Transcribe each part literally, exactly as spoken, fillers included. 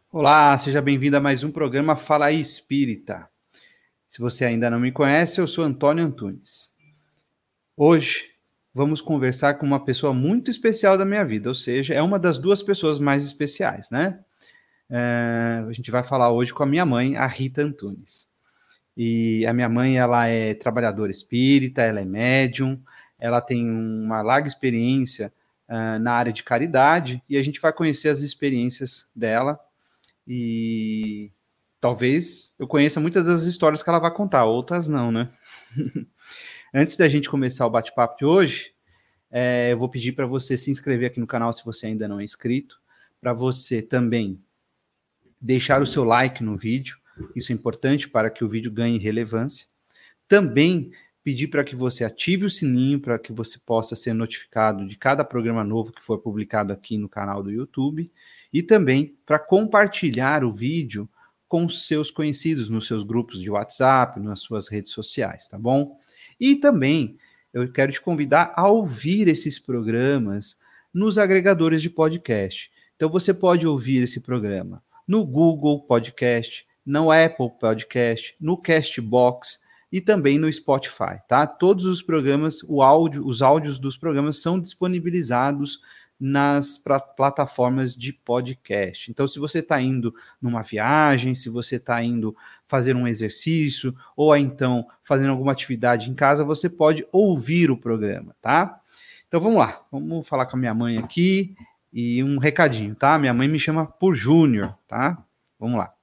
Olá, seja bem-vindo a mais um programa Fala aí Espírita. Se você ainda não me conhece, eu sou Antônio Antunes. Hoje vamos conversar com uma pessoa muito especial da minha vida, ou seja, é uma das duas pessoas mais especiais, né? É, a gente vai falar hoje com a minha mãe, a Rita Antunes. E a minha mãe, ela é trabalhadora espírita, ela é médium, ela tem uma larga experiência uh, na área de caridade e a gente vai conhecer as experiências dela. E talvez eu conheça muitas das histórias que ela vai contar, outras não, né? Antes da gente começar o bate-papo de hoje, é, eu vou pedir para você se inscrever aqui no canal se você ainda não é inscrito, para você também deixar o seu like no vídeo, isso é importante para que o vídeo ganhe relevância. Também pedir para que você ative o sininho para que você possa ser notificado de cada programa novo que for publicado aqui no canal do YouTube e também para compartilhar o vídeo com seus conhecidos nos seus grupos de WhatsApp, nas suas redes sociais, tá bom? E também eu quero te convidar a ouvir esses programas nos agregadores de podcast. Então você pode ouvir esse programa no Google Podcast, no Apple Podcast, no Castbox e também no Spotify, tá? Todos os programas, o áudio, os áudios dos programas são disponibilizados nas pra, plataformas de podcast. Então, se você está indo numa viagem, se você está indo fazer um exercício, ou então fazendo alguma atividade em casa, você pode ouvir o programa, tá? Então, vamos lá. Vamos falar com a minha mãe aqui e um recadinho, tá? Minha mãe me chama por Júnior, tá? Vamos lá.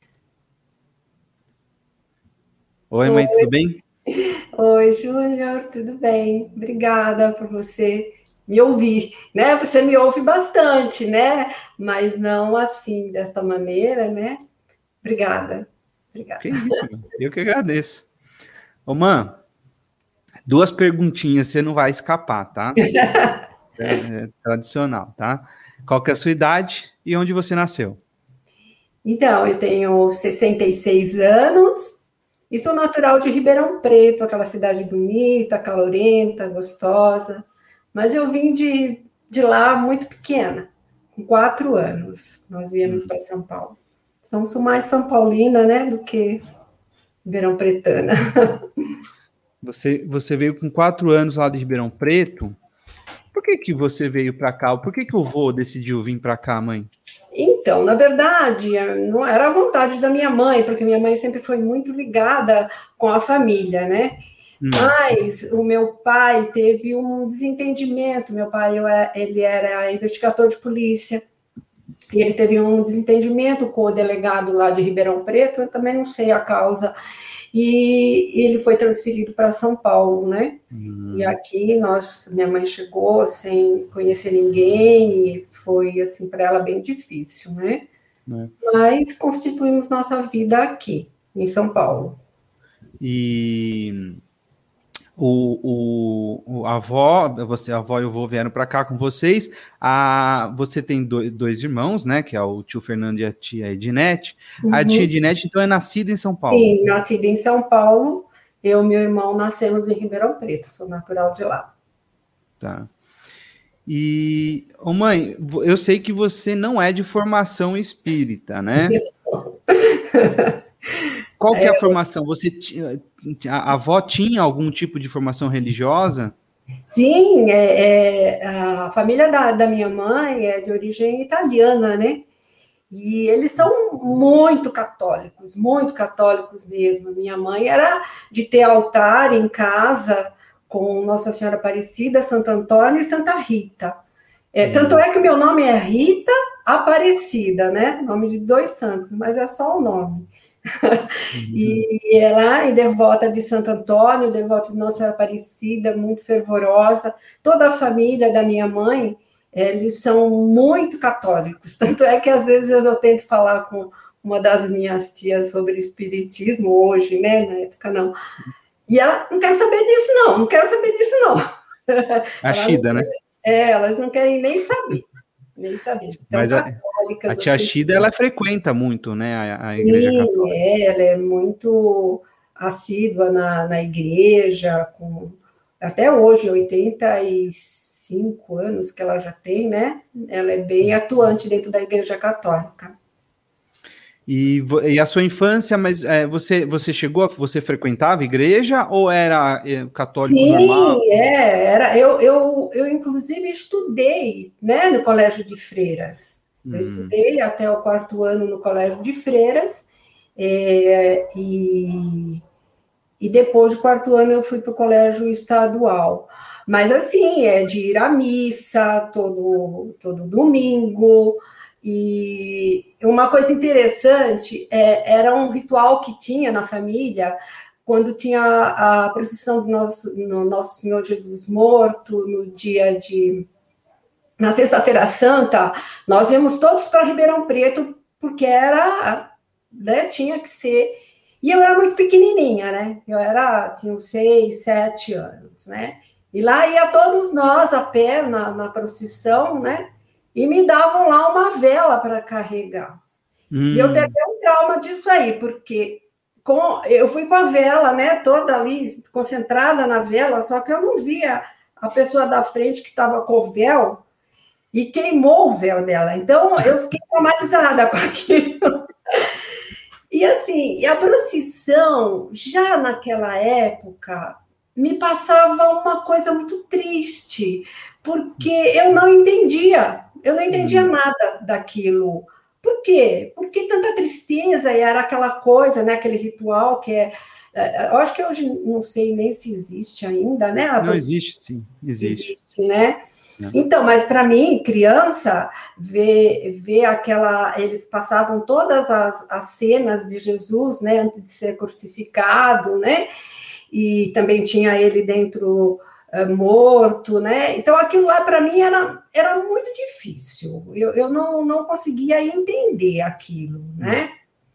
Oi, mãe, tudo bem? Oi, Júnior, tudo bem? Obrigada por você me ouvir, né? Você me ouve bastante, né? Mas não assim, desta maneira, né? Obrigada, obrigada. Que isso, mano. Eu que agradeço. Ô, mãe, duas perguntinhas, você não vai escapar, tá? É, é tradicional, tá? Qual que é a sua idade e onde você nasceu? Então, eu tenho sessenta e seis anos e sou natural de Ribeirão Preto, aquela cidade bonita, calorenta, gostosa. Mas eu vim de, de lá muito pequena, com quatro anos. Nós viemos Hum. para São Paulo. Então, sou mais São Paulina, né, do que Ribeirão Pretana. Você, você veio com quatro anos lá de Ribeirão Preto. Por que que você veio para cá? Por que que o vô decidiu vir para cá, mãe? Então, na verdade, não era a vontade da minha mãe, porque minha mãe sempre foi muito ligada com a família, né? Hum. Mas o meu pai teve um desentendimento. Meu pai, ele era investigador de polícia, e ele teve um desentendimento com o delegado lá de Ribeirão Preto, eu também não sei a causa, e ele foi transferido para São Paulo, né? Hum. E aqui nós, minha mãe chegou sem conhecer ninguém, e foi assim para ela bem difícil, né? É. Mas constituímos nossa vida aqui, em São Paulo. E o, o, a avó, você, a avó e o vô vieram para cá com vocês. A, você tem do, dois irmãos, né? Que é o tio Fernando e a tia Edinete. Uhum. A tia Edinete, então, é nascida em São Paulo? Sim, nascida em São Paulo. Eu e meu irmão nascemos em Ribeirão Preto, sou natural de lá. Tá. E, ô mãe, eu sei que você não é de formação espírita, né? Qual que é a formação? Você tinha, a avó tinha algum tipo de formação religiosa? Sim, é, é, a família da, da minha mãe é de origem italiana, né? E eles são muito católicos, muito católicos mesmo. Minha mãe era de ter altar em casa com Nossa Senhora Aparecida, Santo Antônio e Santa Rita. É, tanto é que o meu nome é Rita Aparecida, né? Nome de dois santos, mas é só o nome. Uhum. E ela é devota de Santo Antônio, devota de Nossa Senhora Aparecida, muito fervorosa. Toda a família da minha mãe, eles são muito católicos. Tanto é que, às vezes, eu tento falar com uma das minhas tias sobre espiritismo, hoje, né? Na época, não. E ela, não quero saber disso, não. Não quero saber disso, não. A Shida, né? É, elas não querem nem saber. Nem saber. Então, mas a, a tia assim, Shida, ela frequenta muito, né, a, a igreja sim, católica. É, ela é muito assídua na, na igreja, com, até hoje, oitenta e cinco anos que ela já tem, né? Ela é bem atuante dentro da igreja católica. E, e a sua infância, mas é, você, você chegou, a, você frequentava igreja ou era é, católico normal? Sim, é, era, eu, eu, eu inclusive estudei, né, no colégio de freiras. Eu Hum. estudei até o quarto ano no colégio de freiras, é, e, e depois do quarto ano eu fui para o colégio estadual. Mas assim, é de ir à missa todo, todo domingo. E uma coisa interessante é, era um ritual que tinha na família quando tinha a procissão do nosso, no Nosso Senhor Jesus morto, no dia de. Na Sexta-feira Santa, nós íamos todos para Ribeirão Preto, porque era. Né, tinha que ser. E eu era muito pequenininha, né? Eu era, tinha uns seis, sete anos, né? E lá ia todos nós a pé na, na procissão, né? E me davam lá uma vela para carregar. E eu tenho Hum. até um trauma disso aí, porque com, eu fui com a vela, né, toda ali, concentrada na vela, só que eu não via a pessoa da frente que estava com o véu e queimou o véu dela. Então, eu fiquei traumatizada com aquilo. E assim, a procissão, já naquela época, me passava uma coisa muito triste, porque eu não entendia, eu não entendia Hum. nada daquilo. Por quê? Porque tanta tristeza, e era aquela coisa, né, aquele ritual que é. Eu acho que hoje não sei nem se existe ainda, né? A Não, procissão existe, sim, existe. existe, né? É. Então, mas para mim, criança, ver, ver aquela. Eles passavam todas as, as cenas de Jesus, né, antes de ser crucificado, né? E também tinha ele dentro uh, morto, né? Então, aquilo lá para mim era, era muito difícil. Eu, eu não, não conseguia entender aquilo, né?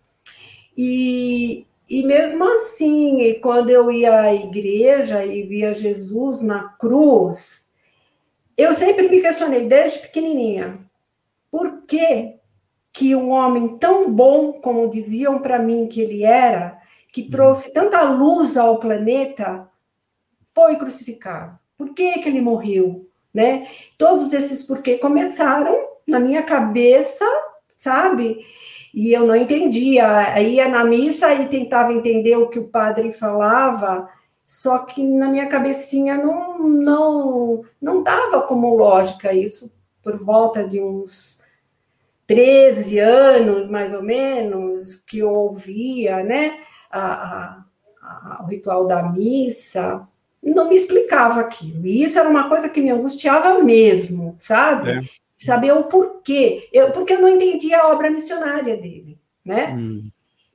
E, e mesmo assim, quando eu ia à igreja e via Jesus na cruz, eu sempre me questionei, desde pequenininha, por que que um homem tão bom, como diziam para mim que ele era, que trouxe tanta luz ao planeta, foi crucificado? Por que que ele morreu? Né? Todos esses porquê começaram na minha cabeça, sabe? E eu não entendia. Aí ia na missa e tentava entender o que o padre falava, só que na minha cabecinha não, não, não dava como lógica isso, por volta de uns treze anos, mais ou menos, que eu ouvia, né, a, a, a, o ritual da missa, não me explicava aquilo. E isso era uma coisa que me angustiava mesmo, sabe? É. Saber o porquê. Eu, porque eu não entendia a obra missionária dele, né? Hum.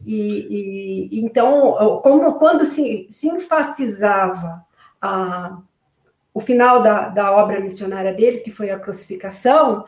E, e então, como, quando se, se enfatizava a, o final da, da obra missionária dele, que foi a crucificação,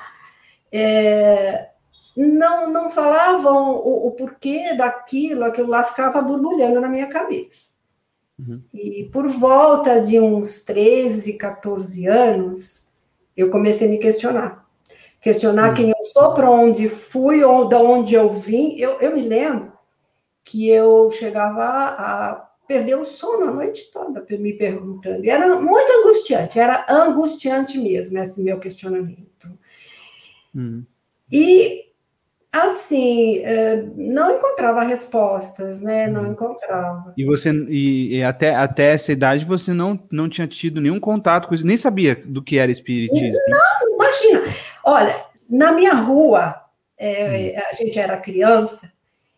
é, não, não falavam o, o porquê daquilo, aquilo lá ficava borbulhando na minha cabeça. Uhum. E por volta de uns treze, quatorze anos, eu comecei a me questionar. Questionar Uhum. quem eu sou, para onde fui, ou de onde eu vim. Eu, eu me lembro que eu chegava a perder o sono a noite toda me perguntando. E era muito angustiante, era angustiante mesmo esse meu questionamento. Uhum. E, assim, não encontrava respostas, né? Não encontrava. E você e, e até, até essa idade você não, não tinha tido nenhum contato com isso, nem sabia do que era espiritismo, né? Não, imagina. Olha, na minha rua, Hum. é, a gente era criança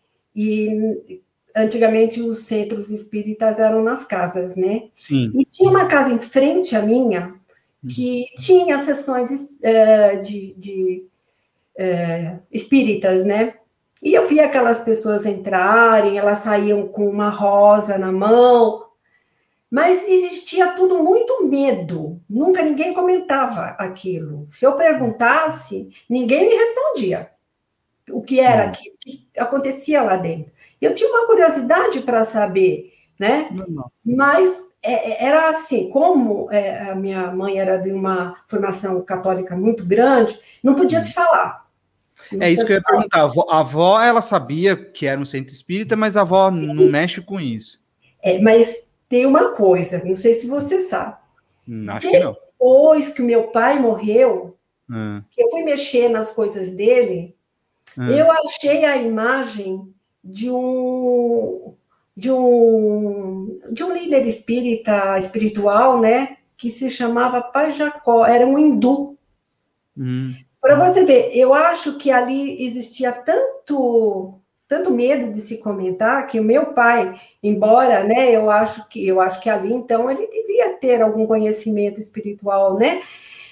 e antigamente os centros espíritas eram nas casas, né? Sim. E tinha uma casa em frente à minha que tinha sessões uh, de, de uh, espíritas, né? E eu via aquelas pessoas entrarem, elas saíam com uma rosa na mão, mas existia tudo muito medo. Nunca ninguém comentava aquilo. Se eu perguntasse, ninguém me respondia o que era aquilo, o que acontecia lá dentro. Eu tinha uma curiosidade para saber, né? Normal. Mas é, era assim, como é, a minha mãe era de uma formação católica muito grande, não podia Hum. se falar. Não É isso que eu ia falar. perguntar. A avó, a avó, ela sabia que era um centro espírita, mas a avó não mexe com isso. É, mas tem uma coisa, não sei se você sabe. Hum, acho que não. Depois que o meu pai morreu, Hum. que eu fui mexer nas coisas dele, Ah. Eu achei a imagem de um, de um, de um líder espírita, espiritual, né? Que se chamava Pai Jacó, era um hindu. Hum. Para você ver, eu acho que ali existia tanto, tanto medo de se comentar que o meu pai, embora, né, eu acho que eu acho que ali então ele devia ter algum conhecimento espiritual, né?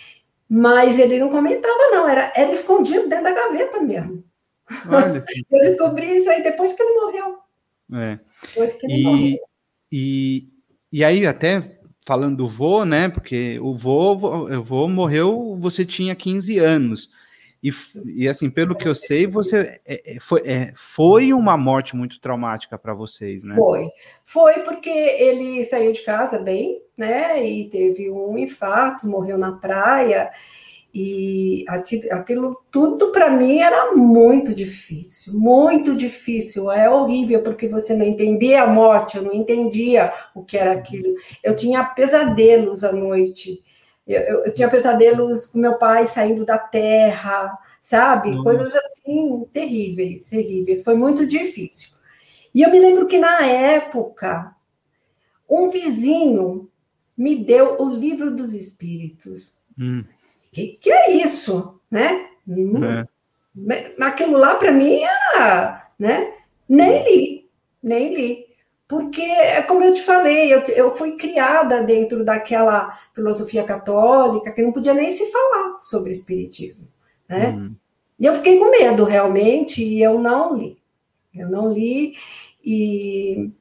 Mas ele não comentava, não, era, era escondido dentro da gaveta mesmo. Olha. Eu descobri isso aí depois que ele morreu. É. Depois que ele morreu. E, e, e aí, até falando do vô, né? Porque o vô, o vô morreu, você tinha quinze anos. E, e assim, pelo que eu sei, você é, é, foi, é, foi uma morte muito traumática para vocês, né? Foi. Foi porque ele saiu de casa bem, né? E teve um infarto, morreu na praia. E aquilo tudo para mim era muito difícil, muito difícil. É horrível porque você não entendia a morte, eu não entendia o que era aquilo. Eu tinha pesadelos à noite, eu, eu, eu tinha pesadelos com meu pai saindo da terra, sabe? Nossa. Coisas assim terríveis, terríveis. Foi muito difícil. E eu me lembro que na época, um vizinho me deu o Livro dos Espíritos. Hum. Que, que é isso, né? Hum, É. Aquilo lá para mim era, né? Nem li, nem li. Porque, é como eu te falei, eu, eu fui criada dentro daquela filosofia católica que não podia nem se falar sobre espiritismo, né? Hum. E eu fiquei com medo, realmente, e eu não li. Eu não li, e...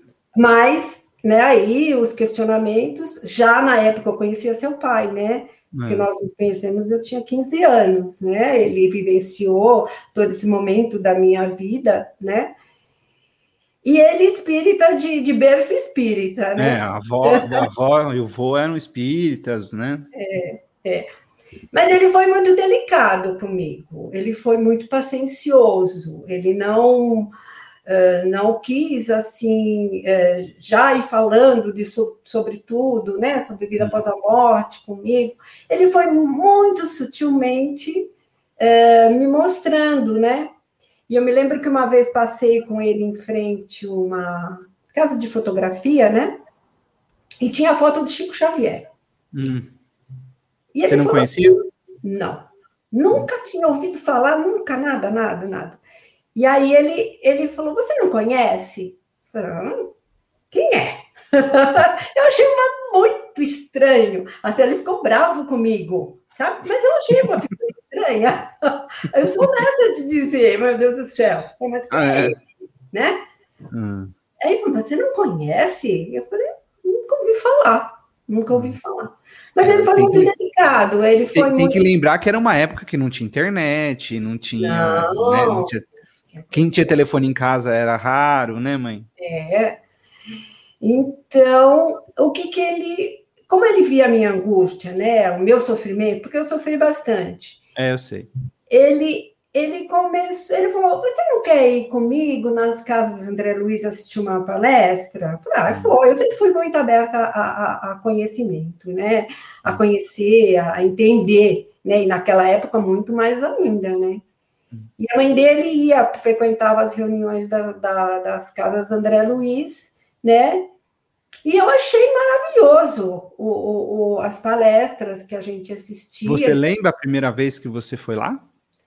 mas, né, aí os questionamentos, já na época eu conhecia seu pai, né? Porque É. nós nos conhecemos, eu tinha quinze anos, né? Ele vivenciou todo esse momento da minha vida, né? E ele espírita de, de berço espírita, né? É, a avó, a avó e o vô eram espíritas, né? É, é. Mas ele foi muito delicado comigo, ele foi muito paciencioso, ele não... Uh, não quis, assim, uh, já ir falando de, so, sobre tudo, né, sobre vida após a morte comigo. Ele foi muito sutilmente uh, me mostrando, né? E eu me lembro que uma vez passei com ele em frente a uma casa de fotografia, né? E tinha a foto do Chico Xavier. Hum. E Você ele não falou conhecia? assim, não, nunca tinha ouvido falar, nunca, nada, nada, nada. E aí ele, ele falou, você não conhece? Eu falei, hum, quem é? Eu achei uma muito estranho. Até ele ficou bravo comigo, sabe? Mas eu achei uma figura estranha. Eu sou nessa de dizer, meu Deus do céu. Mas quem Ah, é é. esse? Né? Hum. Aí ele falou, você não conhece? Eu falei, nunca ouvi falar. Nunca ouvi falar. Mas ele É, foi tem muito que, delicado. Ele foi tem, tem que muito... lembrar que era uma época que não tinha internet, não tinha, né, não Não. tinha... Quem tinha telefone em casa era raro, né, mãe? É. Então, o que que ele... Como ele via a minha angústia, né? O meu sofrimento, porque eu sofri bastante. É, eu sei. Ele, ele começou... Ele falou, você não quer ir comigo nas casas André Luiz assistir uma palestra? Eu falei, ah, foi. Eu sempre fui muito aberta a, a, a conhecimento, né? A conhecer, a entender, né? E naquela época, muito mais ainda, né? E a mãe dele ia, frequentava as reuniões da, da, das casas André Luiz, né? E eu achei maravilhoso o, o, o, as palestras que a gente assistia. Você lembra a primeira vez que você foi lá?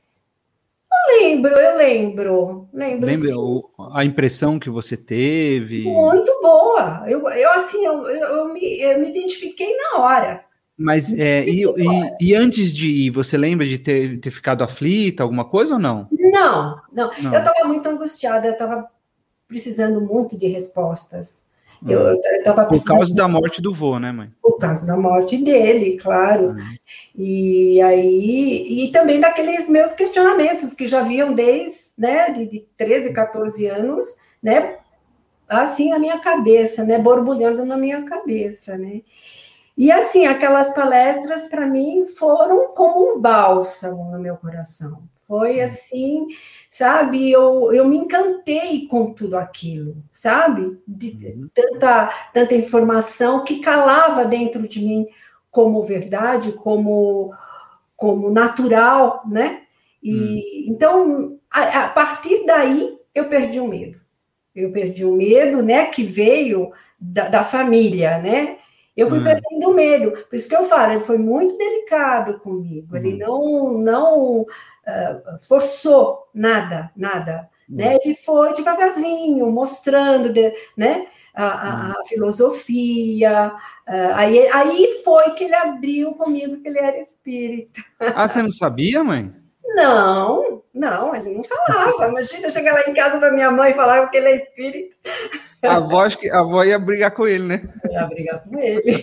Eu lembro, eu lembro. Lembro, Lembra sim. o, a impressão que você teve? Muito boa. Eu, eu assim, eu, eu, eu, me, eu me identifiquei na hora. Mas, é, e, e, e antes de ir, você lembra de ter, ter ficado aflita, alguma coisa ou não? Não, não. Não. Eu estava muito angustiada, eu estava precisando muito de respostas. Eu Hum. estava Por precisando... causa da morte do vô, né, mãe? Por causa da morte dele, claro. Hum. E aí, e também daqueles meus questionamentos que já vinham desde, né, de, de treze, catorze anos, né, assim na minha cabeça, né, borbulhando na minha cabeça, né. E assim, aquelas palestras para mim foram como um bálsamo no meu coração. Foi assim, sabe, eu, eu me encantei com tudo aquilo, sabe? De Uhum. tanta, tanta informação que calava dentro de mim como verdade, como, como natural, né? E, Hum. então, a, a partir daí, eu perdi o medo. Eu perdi o medo, né, que veio da, da família, né? Eu fui Hum. perdendo o medo. Por isso que eu falo, ele foi muito delicado comigo. Ele Uhum. não, não uh, forçou nada, nada. Uhum. Né? Ele foi devagarzinho, mostrando, de, né, a, a, Uhum. a filosofia. Uh, aí, aí foi que ele abriu comigo que ele era espírita. Ah, você não sabia, mãe? Não, não, ele não falava. Imagina eu chegar lá em casa para minha mãe e falar que ele é espírita. A avó, acho que a avó ia brigar com ele, né? Eu ia brigar com ele.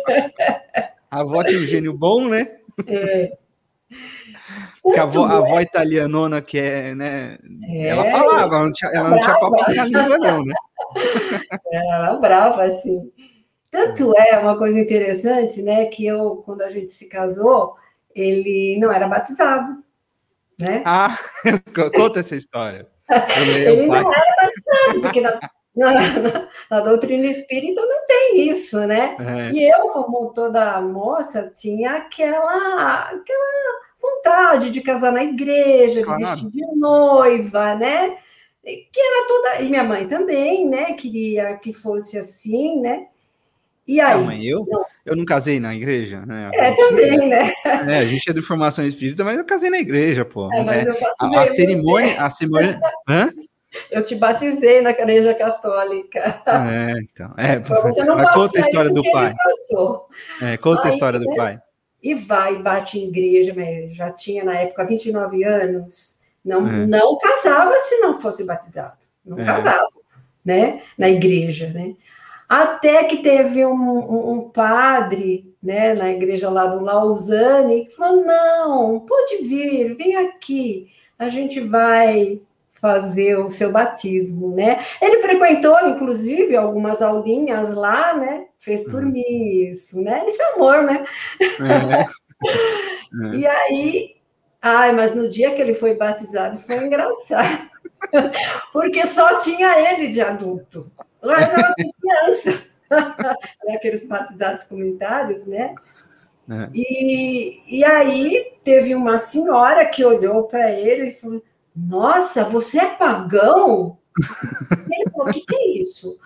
A avó tinha um gênio bom, né? É. Porque a avó, a avó italianona, que é, né? É, ela falava, ela não tinha, ela não tinha papo na língua, não, né? Ela era brava, assim. Tanto é uma coisa interessante, né? Que eu, quando a gente se casou, ele não era batizado, né? Ah, conta essa história. Ele não era batizado, porque na, na, na, na doutrina espírita não tem isso, né? É. E eu, como toda moça, tinha aquela, aquela vontade de casar na igreja, de claro. vestir de noiva, né? Que era toda. E minha mãe também, né? Queria que fosse assim, né? E aí? Não, mãe, eu, não. eu não casei na igreja, né? É, também, né? É, a gente é de formação espírita, mas eu casei na igreja, pô. É, mas é. eu a, a cerimônia, a cerimônia. Hã? Eu te batizei na igreja católica. É, então. É, você não mas conta a história do pai. É, conta aí, a história do né? pai. E vai, bate em igreja, mas já tinha na época vinte e nove anos, não, é. não casava se não fosse batizado. Não é. casava, né? Na igreja, né? Até que teve um, um, um padre, né, na igreja lá do Lausanne, que falou, não, pode vir, vem aqui, a gente vai fazer o seu batismo, né? Ele frequentou, inclusive, algumas aulinhas lá, né? Fez por uhum. mim isso, né? Isso é amor, né? É. É. E aí, ai, mas no dia que ele foi batizado, foi engraçado, porque só tinha ele de adulto. Mas ela tinha criança, aqueles batizados comunitários, né? É. E, e aí teve uma senhora que olhou para ele e falou: nossa, você é pagão? E ele falou: o que, que é isso?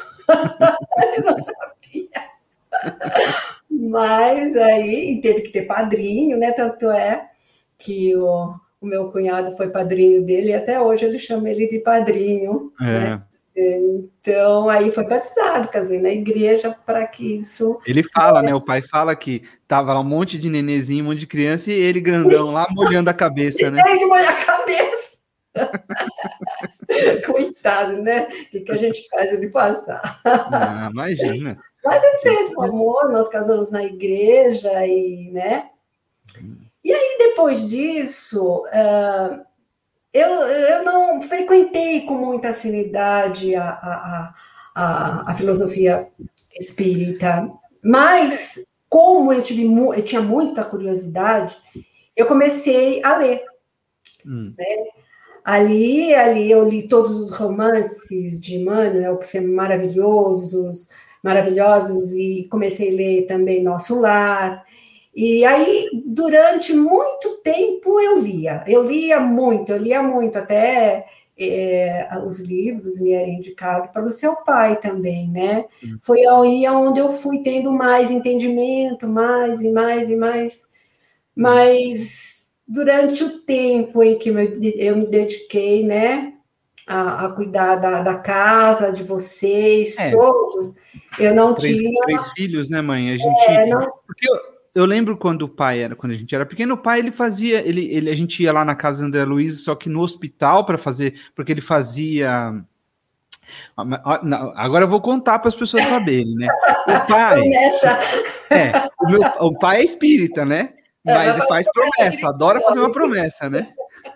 Ele não sabia. Mas aí teve que ter padrinho, né? Tanto é que o, o meu cunhado foi padrinho dele e até hoje ele chama ele de padrinho, é. né? Então, aí foi batizado, casei na igreja para que isso... Ele fala, é... né? O pai fala que tava lá um monte de nenezinho, um monte de criança, e ele grandão lá molhando a cabeça, né? Ele molha a cabeça. Coitado, né? O que, que a gente faz ele passar? Ah, imagina. Mas ele fez com amor, nós casamos na igreja, e, né? E aí, depois disso... Uh... Eu, eu não frequentei com muita afinidade a, a, a, a filosofia espírita, mas como eu, tive, eu tinha muita curiosidade, eu comecei a ler. Hum. Né? Ali, ali eu li todos os romances de Emmanuel, que são maravilhosos, maravilhosos, e comecei a ler também Nosso Lar. E aí, durante muito tempo, eu lia. Eu lia muito, eu lia muito, até é, os livros me eram indicados para o seu pai também, né? Hum. Foi aí onde eu fui tendo mais entendimento, mais e mais e mais. Mas durante o tempo em que eu me dediquei, né, a, a cuidar da, da casa, de vocês, é. todos, eu não três, tinha... Três filhos, né, mãe? A gente... É, não... Porque eu... Eu lembro quando o pai era, quando a gente era pequeno, o pai ele fazia, ele, ele a gente ia lá na casa do André Luiz, só que no hospital para fazer, porque ele fazia. Agora eu vou contar para as pessoas saberem, né? O pai, é, o meu, o pai é espírita, né? Mas é, faz promessa, adora fazer uma promessa, né?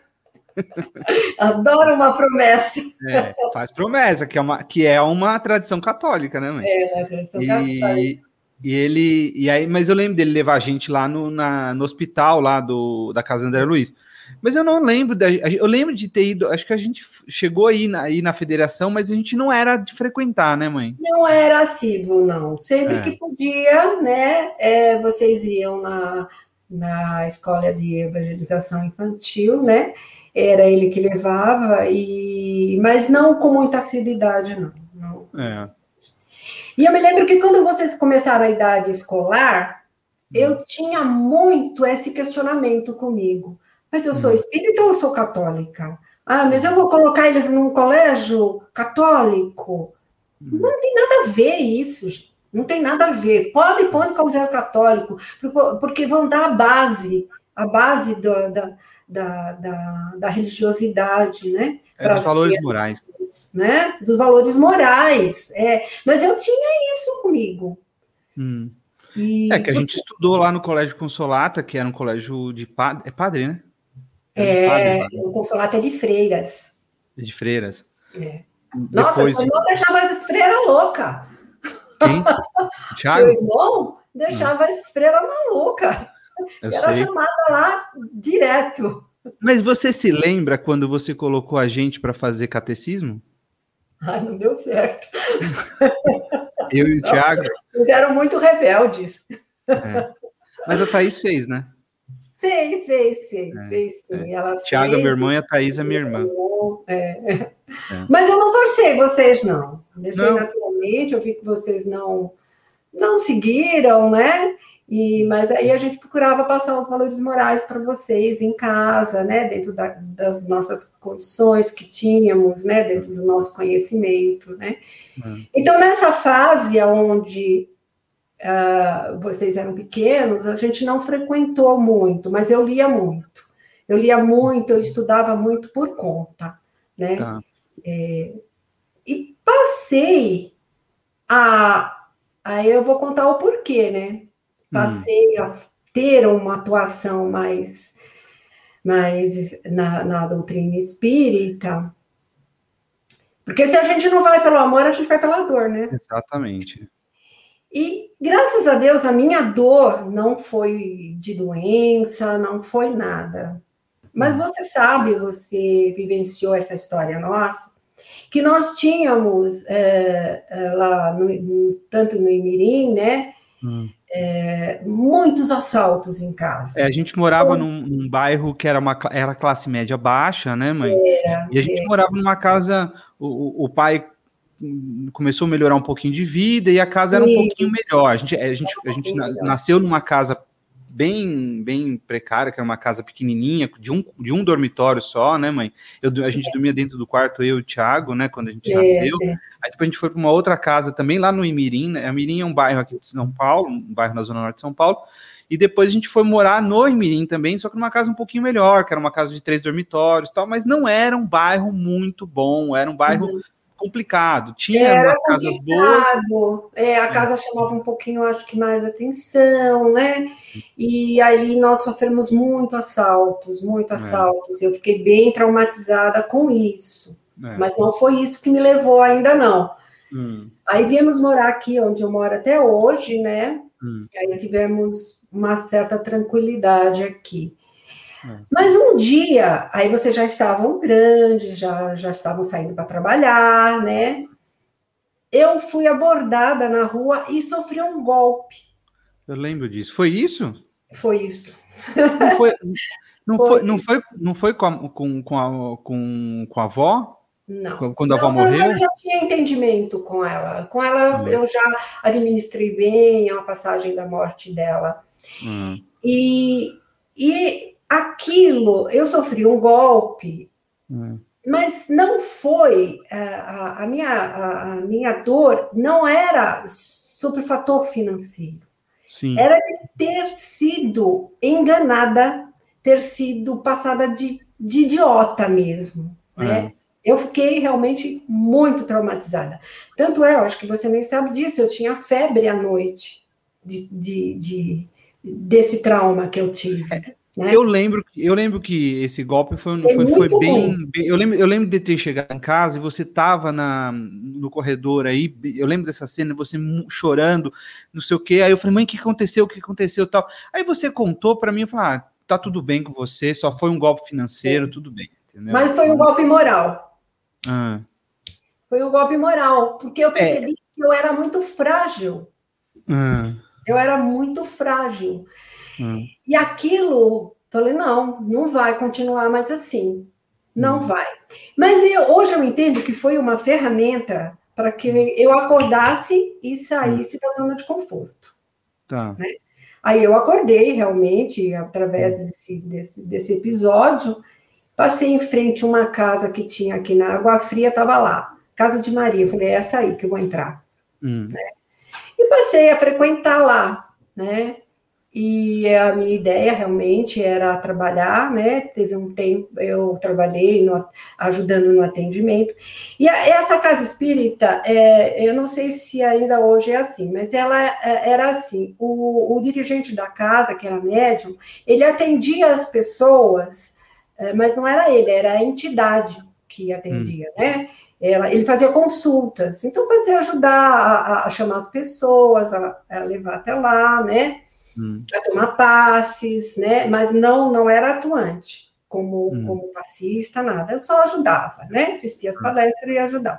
Adoro uma promessa. É, faz promessa, que é uma, que é uma tradição católica, né, mãe? É, uma tradição e... católica. E ele, e aí, mas eu lembro dele levar a gente lá no, na, no hospital lá do, da casa do André Luiz. Mas eu não lembro, da, eu lembro de ter ido, acho que a gente chegou aí na, aí na federação, mas a gente não era de frequentar, né, mãe? Não era assíduo, não. Sempre é. que podia, né, é, vocês iam na, na escola de evangelização infantil, né, era ele que levava, e, mas não com muita assiduidade, não. não. É. E eu me lembro que quando vocês começaram a idade escolar, eu tinha muito esse questionamento comigo. Mas eu sou espírita ou eu sou católica? Ah, mas eu vou colocar eles num colégio católico? Não tem nada a ver isso, gente. Não tem nada a ver. Pode pôr no colégio católico, porque vão dar a base, a base do, da, da, da, da religiosidade, né? É dos valores morais. Né? Dos valores morais. É. Mas eu tinha isso comigo. Hum. E, é que a gente estudou lá no Colégio Consolata, que era um colégio de padre, é padre, né? É, padre, o Consolata é de freiras. De freiras. É. Nossa, Depois... seu irmão deixava as freiras loucas. Quem? Thiago? Seu irmão deixava as freiras malucas. Era sei. chamada lá direto. Mas você se lembra quando você colocou a gente para fazer catecismo? Ai, não deu certo. Eu e o Thiago. Eles eram muito rebeldes. É. Mas a Thaís fez, né? Fez, fez, fez, é, fez sim. É. Ela Thiago fez, é meu irmão e a Thaís é minha irmã. É. É. Mas eu não forcei vocês, não. Deixei não. naturalmente, eu vi que vocês não, não seguiram, né? E, mas aí a gente procurava passar os valores morais para vocês em casa, né? Dentro da, das nossas condições que tínhamos, né? Dentro do nosso conhecimento, né? Hum. Então, nessa fase onde uh, vocês eram pequenos, a gente não frequentou muito, mas eu lia muito. Eu lia muito, eu estudava muito por conta, né? Tá. É, e passei a... Aí eu vou contar o porquê, né? Passei hum. a ter uma atuação mais, mais na, na doutrina espírita, porque se a gente não vai pelo amor, a gente vai pela dor, né? Exatamente. E, graças a Deus, a minha dor não foi de doença, não foi nada. Mas você sabe, você vivenciou essa história nossa, que nós tínhamos, é, é, lá, no, no, tanto no Imirim, né? Hum. É, muitos assaltos em casa. É, a gente morava então, num, num bairro que era uma era classe média baixa, né, mãe? Era, e a gente é. morava numa casa, o, o pai começou a melhorar um pouquinho de vida e a casa era um Isso. pouquinho melhor. A gente, a gente, a gente um nasceu numa casa bem, bem precária, que era uma casa pequenininha, de um, de um dormitório só, né, mãe? Eu, a gente é. dormia dentro do quarto, eu e o Thiago, né, quando a gente é. nasceu. É. Aí depois a gente foi para uma outra casa também, lá no Imirim, né? Imirim é um bairro aqui de São Paulo, um bairro na Zona Norte de São Paulo, e depois a gente foi morar no Imirim também, só que numa casa um pouquinho melhor, que era uma casa de três dormitórios e tal, mas não era um bairro muito bom, era um bairro... Uhum. complicado, tinha Era umas casas boas. É, a casa chamava um pouquinho, acho que mais atenção, né? E ali nós sofremos muito assaltos, muito assaltos. É. Eu fiquei bem traumatizada com isso. É. Mas não foi isso que me levou ainda, não. Hum. Aí viemos morar aqui, onde eu moro até hoje, né? Hum. Aí tivemos uma certa tranquilidade aqui. Mas um dia, aí vocês já estavam grandes, já, já estavam saindo para trabalhar, né? Eu fui abordada na rua e sofri um golpe. Eu lembro disso. Foi isso? Foi isso. Não foi, não foi, foi, não foi, não foi com, a, com, com, a, com, com a avó? Não. Quando a avó não, morreu? Eu já tinha entendimento com ela. Com ela, hum. eu já administrei bem a passagem da morte dela. Hum. E... e aquilo, eu sofri um golpe, hum. mas não foi, a, a, minha, a, a minha dor não era sobre o fator financeiro. Sim. Era de ter sido enganada, ter sido passada de, de idiota mesmo, né? É. Eu fiquei realmente muito traumatizada. Tanto é, eu acho que você nem sabe disso, eu tinha febre à noite de, de, de, desse trauma que eu tive. É. Né? Eu lembro, eu lembro que esse golpe foi, é foi, foi bem, bem. Eu lembro, eu lembro de ter chegado em casa e você estava no corredor aí. Eu lembro dessa cena, você chorando, não sei o quê. Aí eu falei, mãe, o que aconteceu? O que aconteceu? Tal. Aí você contou para mim, eu falei, ah, tá tudo bem com você, só foi um golpe financeiro, é. tudo bem. Entendeu? Mas foi um golpe moral. Ah. Foi um golpe moral, porque eu percebi é. que eu era muito frágil. Ah. Eu era muito frágil. Hum. E aquilo, falei, não, não vai continuar mais assim. Não Hum. vai. Mas eu, hoje eu entendo que foi uma ferramenta para que eu acordasse e saísse da zona de conforto. Tá. Né? Aí eu acordei realmente, através desse, desse, desse episódio, passei em frente a uma casa que tinha aqui na Água Fria, estava lá, Casa de Maria. Eu falei, é essa aí que eu vou entrar. Hum. Né? E passei a frequentar lá, né? E a minha ideia realmente era trabalhar, né? Teve um tempo, eu trabalhei no, ajudando no atendimento. E a, essa casa espírita, é, eu não sei se ainda hoje é assim, mas ela é, era assim: o, o dirigente da casa, que era médium, ele atendia as pessoas, é, mas não era ele, era a entidade que atendia, hum. né? Ela, ele fazia consultas, então passei a ajudar a, a chamar as pessoas, a, a levar até lá, né? Hum. A tomar passes, né? Mas não, não era atuante como, hum. como passista, nada. Eu só ajudava, né? Assistia as palestras e ajudava.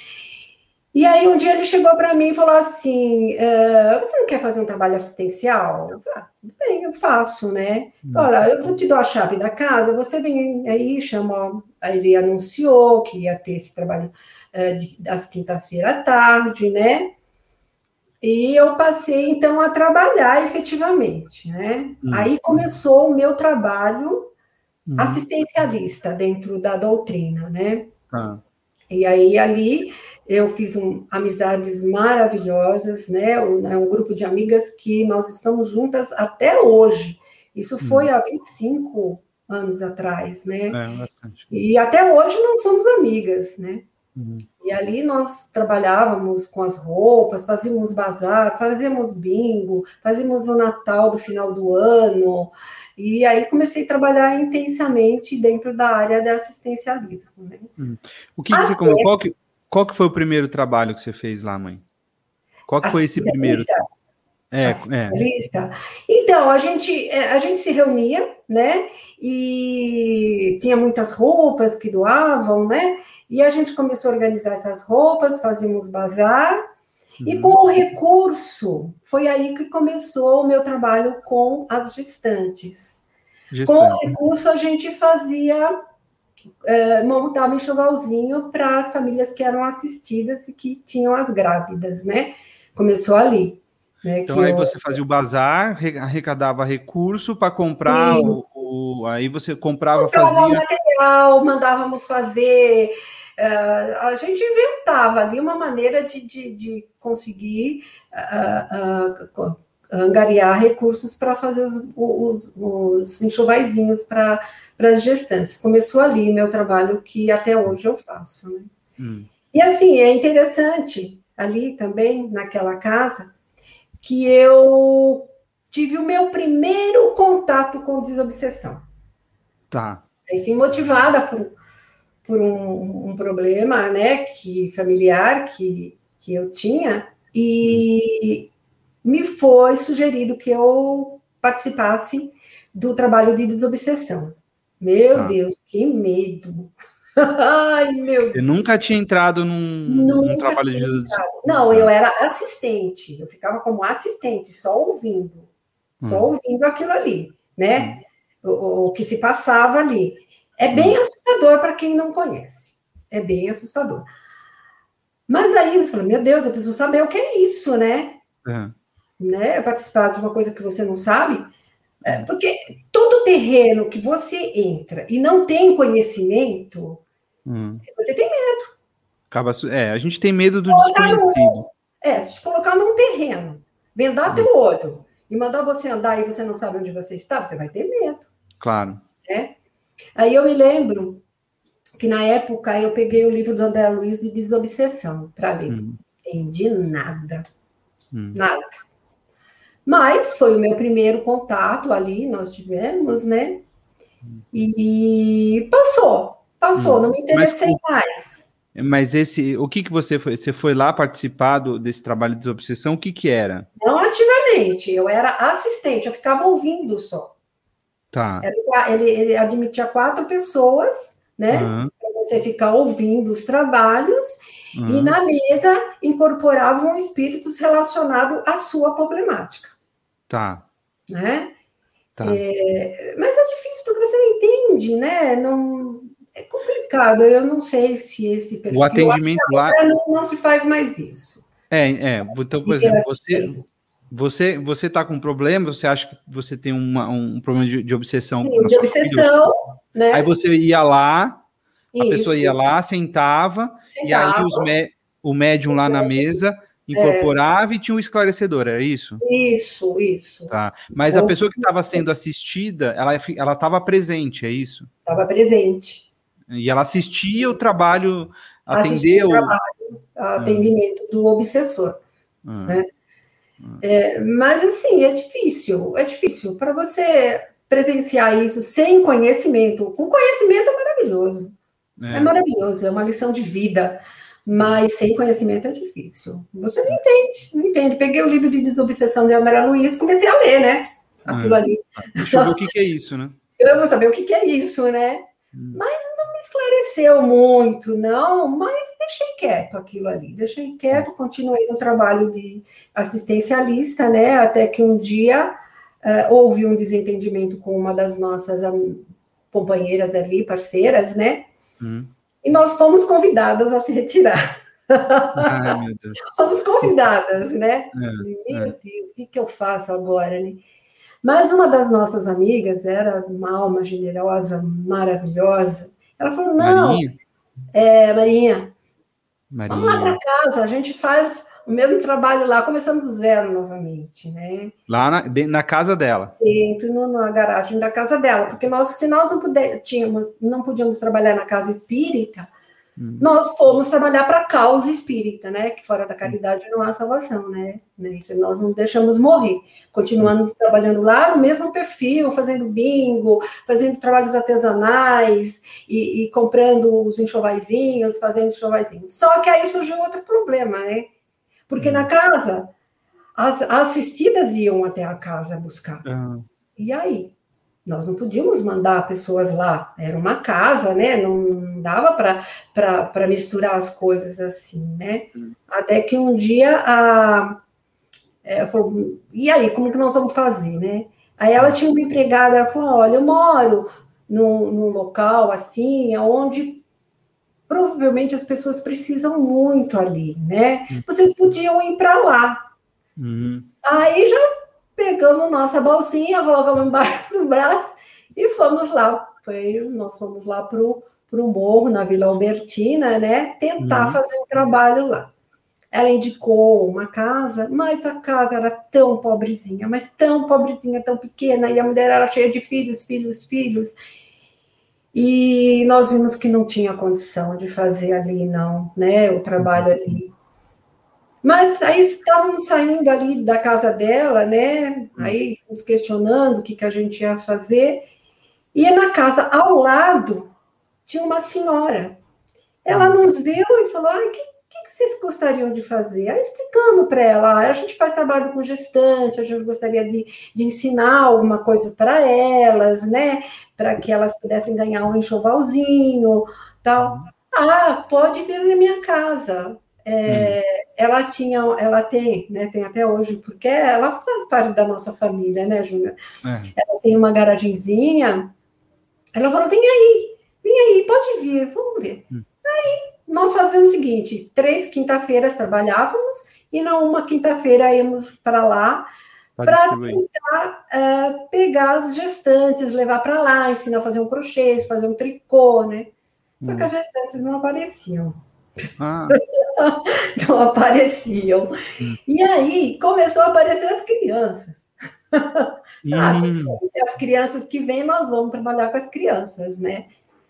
E aí um dia ele chegou para mim e falou assim: uh, você não quer fazer um trabalho assistencial? Eu falei, ah, tudo bem, eu faço, né? Hum. Olha, eu vou te dar a chave da casa, você vem aí, chama. Aí ele anunciou que ia ter esse trabalho uh, de, das quinta-feira à tarde, né? E eu passei, então, a trabalhar efetivamente, né? Hum. Aí começou o meu trabalho hum. assistencialista dentro da doutrina, né? Ah. E aí, ali, eu fiz um, amizades maravilhosas, né? Um, um grupo de amigas que nós estamos juntas até hoje. Isso foi hum. há vinte e cinco anos atrás, né? É, bastante. E até hoje nós somos amigas, né? Uhum. E ali nós trabalhávamos com as roupas, fazíamos bazar, fazíamos bingo, fazíamos o Natal do final do ano, e aí comecei a trabalhar intensamente dentro da área de assistencialismo. Né? Hum. O que, que você Até... qual, que, qual que foi o primeiro trabalho que você fez lá, mãe? Qual que foi esse primeiro? É, é. Então, a gente, a gente se reunia, né? E tinha muitas roupas que doavam, né? E a gente começou a organizar essas roupas, fazíamos bazar, uhum. e com o recurso, foi aí que começou o meu trabalho com as gestantes. Gestante. Com o recurso, a gente fazia, é, montava enxovalzinho para as famílias que eram assistidas e que tinham as grávidas, né? Começou ali. Né, então, aí eu... você fazia o bazar, arrecadava recurso para comprar, o, o, aí você comprava, comprava fazia... material, mandávamos fazer... Uh, a gente inventava ali uma maneira de, de, de conseguir uh, uh, angariar recursos para fazer os, os, os enxovaizinhos para as gestantes. Começou ali meu trabalho, que até hoje eu faço. Né? Hum. E assim, é interessante, ali também, naquela casa, que eu tive o meu primeiro contato com desobsessão. Tá. Assim, motivada por, por um, um problema, né, que, familiar que, que eu tinha, e hum. me foi sugerido que eu participasse do trabalho de desobsessão. Meu tá. Deus, que medo! Ai, meu Deus. Eu nunca tinha entrado num, num trabalho de desobsessão. Não, tá. eu era assistente, eu ficava como assistente, só ouvindo, hum. só ouvindo aquilo ali, né? Hum. O, o que se passava ali. É bem hum. assustador para quem não conhece. É bem assustador. Mas aí eu falei, meu Deus, eu preciso saber o que é isso, né? Uhum. né? Participar de uma coisa que você não sabe. É, porque todo terreno que você entra e não tem conhecimento, hum. você tem medo. Acaba, é, a gente tem medo do desconhecido. No, é, se te colocar num terreno, vendar hum. teu olho e mandar você andar e você não sabe onde você está, você vai ter medo. Claro. Né? Aí eu me lembro que na época eu peguei o livro do André Luiz de Desobsessão para ler. Hum. Entendi nada. Hum. Nada. Mas foi o meu primeiro contato ali, nós tivemos, né? E passou, passou, hum. não me interessei mas, mais. Mas esse, o que que você foi? Você foi lá participar do, desse trabalho de desobsessão? O que que era? Não ativamente, eu era assistente, eu ficava ouvindo só. Tá. Ele, ele admitia quatro pessoas, né? Uhum. Para você ficar ouvindo os trabalhos, uhum. e na mesa incorporavam espíritos relacionados à sua problemática. Tá. Né? Tá. É, mas é difícil porque você não entende, né? Não, É complicado, eu não sei se esse perfil... O atendimento lá... Não, não se faz mais isso. É, é. Então, por exemplo, você... Você você está com problema, você acha que você tem uma, um problema de, de obsessão Sim, na de sua obsessão, família, né? Aí você ia lá, a Isso. pessoa ia lá, sentava, sentava. E aí os o médium lá na mesa incorporava é. e tinha um esclarecedor, era isso? Isso, isso. Tá. Mas então, a pessoa que estava sendo assistida, ela ela estava presente, é isso? Estava presente. E ela assistia o trabalho, atendeu... Assistia o trabalho, atendimento ah. do obsessor, ah. né? É, mas assim, é difícil, é difícil para você presenciar isso sem conhecimento. Com conhecimento é maravilhoso, é. é maravilhoso, é uma lição de vida, mas sem conhecimento é difícil. Você não entende, não entende. Peguei o livro de Desobsessão de André Luiz, comecei a ler, né? Aquilo é. ali. Deixa eu ver o que, que é isso, né? Eu vou saber o que, que é isso, né? Hum. Mas não me esclareceu muito, não, mas deixei quieto aquilo ali, deixei quieto, continuei no trabalho de assistencialista, né, até que um dia uh, houve um desentendimento com uma das nossas um, companheiras ali, parceiras, né, hum. e nós fomos convidadas a se retirar. Ai, meu Deus. Fomos convidadas, né, é, meu é. Deus, o que, que eu faço agora, né? Mas uma das nossas amigas era uma alma generosa, maravilhosa. Ela falou, não, Marinha? É, Marinha, Marinha. vamos lá para casa, a gente faz o mesmo trabalho lá, começamos do zero novamente, né? Lá na, na casa dela? Dentro, no, na garagem da casa dela, porque nós, se nós não, puder, tínhamos, não podíamos trabalhar na casa espírita, hum. nós fomos trabalhar para a causa espírita, né? Que fora da caridade não há salvação, né? Isso nós não deixamos morrer. Continuamos hum. trabalhando lá no mesmo perfil, fazendo bingo, fazendo trabalhos artesanais e, e comprando os enxovaizinhos, fazendo enxovaizinhos. Só que aí surgiu outro problema, né? Porque hum. na casa, as, as assistidas iam até a casa buscar. Hum. E aí? Nós não podíamos mandar pessoas lá, era uma casa, né? Não dava para misturar as coisas assim, né? Hum. Até que um dia a. É, falou, e aí, como que nós vamos fazer, né? Aí ela tinha uma empregada, ela falou: olha, eu moro num, num local assim, onde provavelmente as pessoas precisam muito ali, né? Hum. Vocês podiam ir para lá. Hum. Aí já pegamos nossa bolsinha, colocamos embaixo do braço e fomos lá. Foi, nós fomos lá para o morro, na Vila Albertina, né? Tentar uhum. fazer um trabalho lá. Ela indicou uma casa, mas a casa era tão pobrezinha, mas tão pobrezinha, tão pequena, e a mulher era cheia de filhos, filhos, filhos. E nós vimos que não tinha condição de fazer ali, não, né? O trabalho ali. Mas aí estávamos saindo ali da casa dela, né? Aí nos questionando o que, que a gente ia fazer. E na casa ao lado tinha uma senhora. Ela nos viu e falou: ah, o que, que, que vocês gostariam de fazer? Aí explicamos para ela: a gente faz trabalho com gestante, a gente gostaria de, de ensinar alguma coisa para elas, né? Para que elas pudessem ganhar um enxovalzinho, tal. Ah, pode vir na minha casa. É, hum. Ela tinha, ela tem, né, tem até hoje, porque ela faz parte da nossa família, né, Júnior? É. Ela tem uma garagenzinha. Ela falou: vem aí, vem aí, pode vir, vamos ver. Hum. Aí nós fazemos o seguinte: três quinta-feiras trabalhávamos e na uma quinta-feira íamos para lá para tentar uh, pegar as gestantes, levar para lá, ensinar a fazer um crochê, fazer um tricô, né? Só hum. que as gestantes não apareciam. Ah. Não apareciam. Hum. E aí começou a aparecer as crianças. Hum. Ah, as crianças que vêm, nós vamos trabalhar com as crianças, né?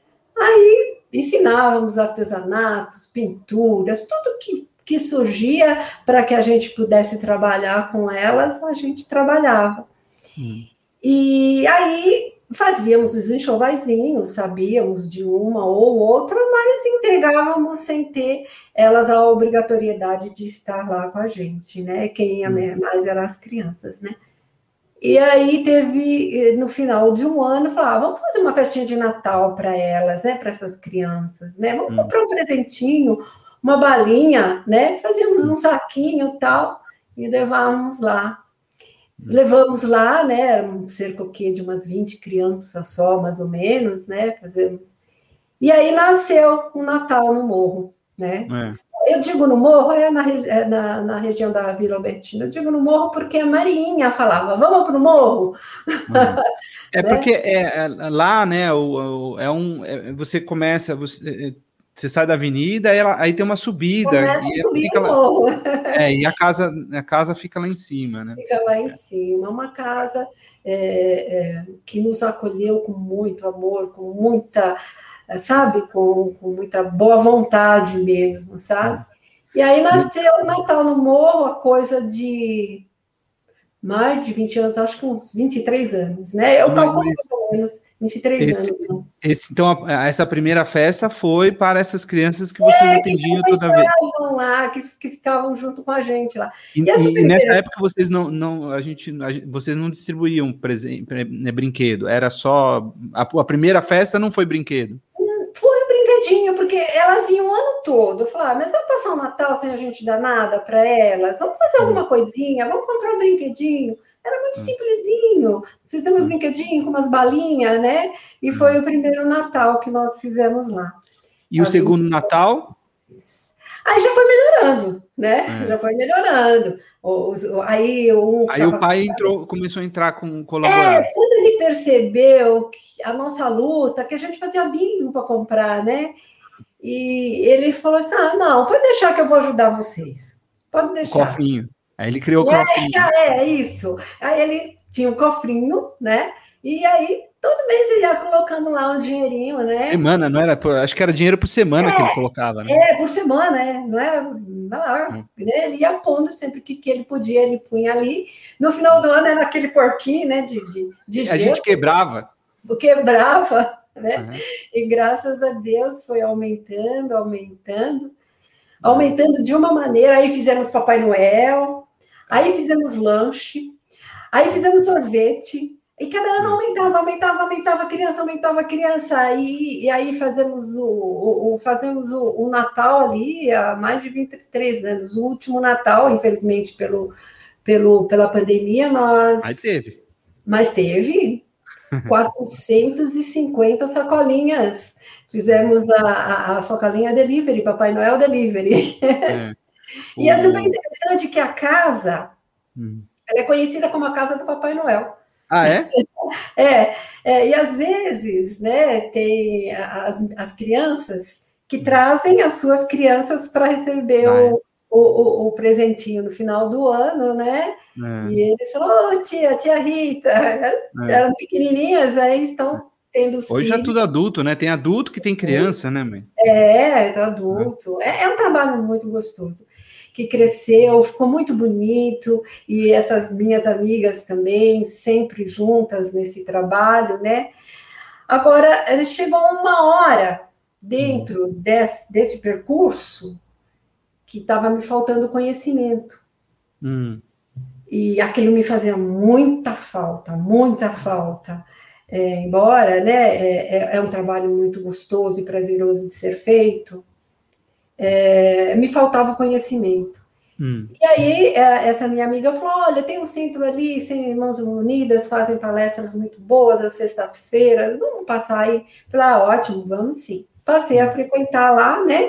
Aí ensinávamos artesanatos, pinturas, tudo que, que surgia para que a gente pudesse trabalhar com elas, a gente trabalhava. Hum. E aí fazíamos os enxovaizinhos, sabíamos de uma ou outra, mas entregávamos sem ter elas a obrigatoriedade de estar lá com a gente, né? Quem ia hum. mais eram as crianças, né? E aí teve, no final de um ano, falava: ah, vamos fazer uma festinha de Natal para elas, né? Para essas crianças, né? Vamos hum. comprar um presentinho, uma balinha, né? Fazíamos um saquinho e tal, e levávamos lá. Levamos lá, né? Eram cerca de umas vinte crianças só, mais ou menos, né? Fazemos. E aí nasceu o Natal no Morro, né? É. Eu digo no Morro, é na, é na, na região da Vila Albertina. Eu digo no Morro porque a Marinha falava, vamos para o Morro. É, é né? porque é, é, lá, né, o, o, é um, é, você começa, você, você sai da avenida, aí, ela, aí tem uma subida, Começa e, a subir fica o lá, morro. é, e a casa, a casa fica lá em cima, né? Fica lá em cima. Uma casa é, é, que nos acolheu com muito amor, com muita, sabe, com, com muita boa vontade mesmo, sabe? E aí nasceu o Natal no Morro, a coisa de mais de vinte anos, acho que uns vinte e três anos, né? Eu Mas, calculo mais ou menos vinte e três esse, anos. Então. esse, então, a, essa primeira festa foi para essas crianças que vocês É, atendiam que toda vez. lá, que, que ficavam junto com a gente lá. E, E, é super e nessa época vocês não, não, a gente, a, vocês não distribuíam presente, né, brinquedo, era só a, a primeira festa não foi brinquedo. Foi um brinquedinho, porque elas vinham o ano todo. Eu falava, mas vamos passar o Natal sem a gente dar nada para elas? Vamos fazer alguma coisinha? Vamos comprar um brinquedinho? Era muito simplesinho. Fizemos um brinquedinho com umas balinhas, né? E foi o primeiro Natal que nós fizemos lá. E o segundo Natal? Aí já foi melhorando, né? É. Já foi melhorando. Aí, um Aí o pai entrou, começou a entrar com colaborar. É, quando ele percebeu que a nossa luta, que a gente fazia bingo para comprar, né? E ele falou assim: ah, não, pode deixar que eu vou ajudar vocês. Pode deixar. O cofrinho. Aí ele criou o é, cofrinho. É, isso. Aí ele tinha um cofrinho, né? E aí, todo mês ele ia colocando lá um dinheirinho, né? Semana, não era? Acho que era dinheiro por semana é, que ele colocava, né? É, por semana, é, não é? Não, hum. né? Ele ia pondo sempre que, que ele podia, ele punha ali. No final do ano era aquele porquinho, né? De, de, de A gesso, gente quebrava. Quebrava, né? Uhum. E graças a Deus foi aumentando, aumentando, aumentando de uma maneira. Aí fizemos Papai Noel, aí fizemos lanche, aí fizemos sorvete. E cada ano aumentava, aumentava, aumentava a criança, aumentava a criança. E, e aí fazemos o, o, o fazemos o, o Natal ali há mais de vinte e três anos. O último Natal, infelizmente, pelo, pelo, pela pandemia, nós... Aí teve. Mas teve quatrocentas e cinquenta sacolinhas. Fizemos a, a, a sacolinha delivery, Papai Noel delivery. É. E é super interessante que a casa hum. ela é conhecida como a casa do Papai Noel. Ah, é? é, é, e às vezes, né, tem as, as crianças que trazem as suas crianças para receber ah, o, é. o, o, o presentinho no final do ano, né? É. E eles falam, oh, tia, tia Rita, elas é. eram pequenininhas, aí estão tendo os Hoje filhos. É tudo adulto, né? Tem adulto que tem criança, né, mãe? É, é adulto. É, é um trabalho muito gostoso. Que cresceu, ficou muito bonito, e essas minhas amigas também, sempre juntas nesse trabalho, né? Agora, chegou uma hora dentro hum. desse, desse percurso que estava me faltando conhecimento. Hum. E aquilo me fazia muita falta, muita falta. É, embora, né, é, é um trabalho muito gostoso e prazeroso de ser feito, é, me faltava conhecimento. Hum. E aí, essa minha amiga falou, olha, tem um centro ali, Sem Irmãos Unidas, fazem palestras muito boas às sextas-feiras, vamos passar aí. Falei, ah, ótimo, vamos sim. Passei a frequentar lá, né?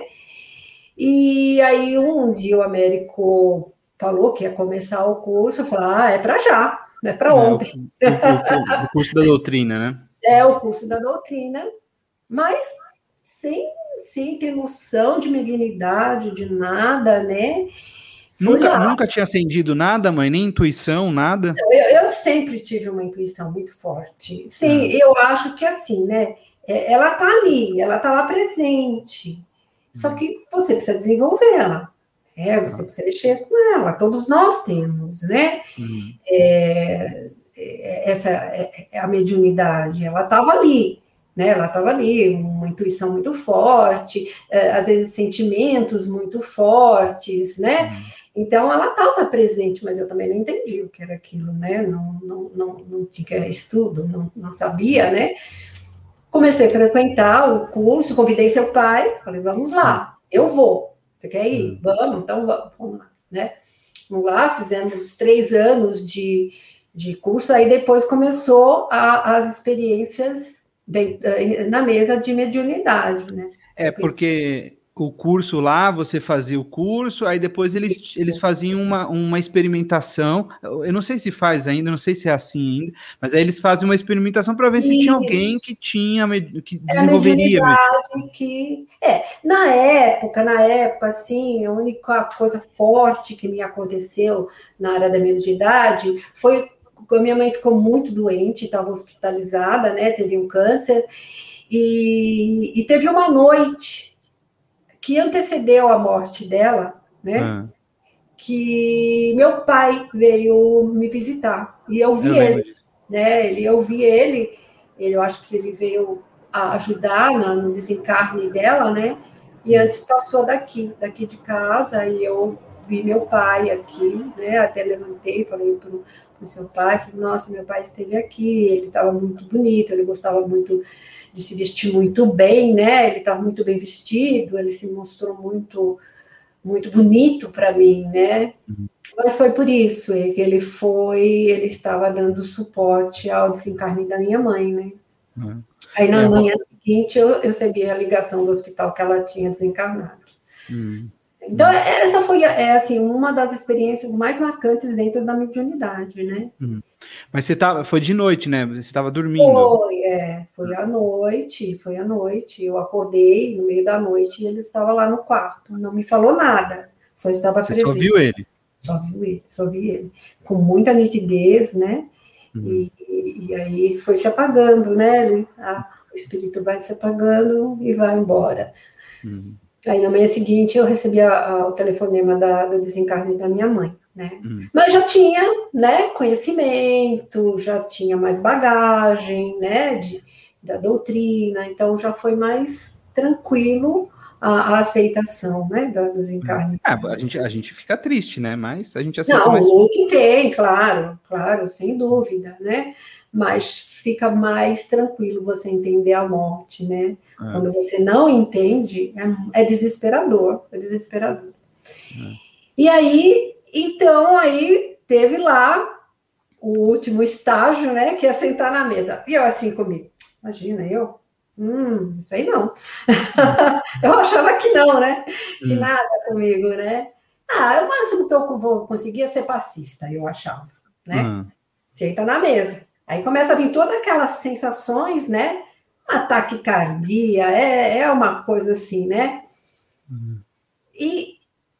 E aí, um dia o Américo falou que ia começar o curso, eu falei, ah, é para já, não é para ontem. É, o, o, o curso da doutrina, né? É, o curso da doutrina, mas sem, sem ter noção de mediunidade, de nada, né? Nunca, nunca tinha acendido nada, mãe? Nem intuição, nada? Eu, eu sempre tive uma intuição muito forte. Sim, ah. eu acho que assim, né? Ela tá ali, ela tá lá presente. Só que você precisa desenvolvê-la. É, você ah. precisa mexer com ela. Todos nós temos, né? Uhum. É, essa é a mediunidade. Ela estava ali, né? Ela estava ali, uma intuição muito forte, às vezes sentimentos muito fortes, né? Uhum. Então, ela estava presente, mas eu também não entendi o que era aquilo, né? Não, não, não, não tinha estudo, não, não sabia, né? Comecei a frequentar o curso, convidei seu pai, falei, vamos lá, eu vou. Você quer ir? Vamos, então vamos, vamos lá, né? Vamos lá, fizemos três anos de, de curso, aí depois começou a, as experiências na mesa de mediunidade, né? É, porque o curso lá, você fazia o curso, aí depois eles, eles faziam uma, uma experimentação. Eu não sei se faz ainda, não sei se é assim ainda, mas aí eles fazem uma experimentação para ver se tinha alguém que tinha que desenvolveria. É a mediunidade que é na época, na época, assim, a única coisa forte que me aconteceu na área da mediunidade foi quando minha mãe ficou muito doente, estava hospitalizada, né? Teve um câncer, e, e teve uma noite que antecedeu a morte dela, né? Ah. Que meu pai veio me visitar e eu vi eu ele, lembro. né? Ele, eu vi ele, ele, eu acho que ele veio ajudar na, no desencarne dela, né? E antes passou daqui, daqui de casa, e eu vi meu pai aqui, né? Até levantei, falei para o seu pai, falei, nossa, meu pai esteve aqui, ele estava muito bonito, ele gostava muito de se vestir muito bem, né? Ele estava muito bem vestido, ele se mostrou muito, muito bonito para mim, né? Uhum. Mas foi por isso que ele foi, ele estava dando suporte ao desencarne da minha mãe, né? Uhum. Aí na é, manhã seguinte eu, eu recebi a ligação do hospital que ela tinha desencarnado. Uhum. Então, essa foi, é, assim, uma das experiências mais marcantes dentro da mediunidade, né? Uhum. Mas você tava, foi de noite, né? Você estava dormindo. Foi, é, foi à noite, foi à noite. Eu acordei no meio da noite e ele estava lá no quarto. Não me falou nada, só estava você presente. Você só viu ele? Só viu ele, só vi ele. Com muita nitidez, né? Uhum. E, e aí foi se apagando, né? Ele, a, o espírito vai se apagando e vai embora. Uhum. Aí, na manhã seguinte, eu recebi a, a, o telefonema da, do desencarne da minha mãe, né? Hum. Mas já tinha, né, conhecimento, já tinha mais bagagem, né, de, da doutrina, então já foi mais tranquilo a, a aceitação, né, do desencarne. É, a, gente, a gente fica triste, né, mas a gente aceita Não, mais. Não, que tem, claro, claro, sem dúvida, né, mas fica mais tranquilo você entender a morte, né? É. Quando você não entende, é, é desesperador, é desesperador. É. E aí, então, aí teve lá o último estágio, né? Que é sentar na mesa. E eu assim comigo, imagina, eu? Hum, isso aí não. Eu achava que não, né? Que hum. nada comigo, né? Ah, o máximo que eu vou conseguir é ser passista, eu achava, né? Hum. Senta na mesa. Aí começa a vir todas aquelas sensações, né? Ataque cardíaco, é, é uma coisa assim, né? Uhum. E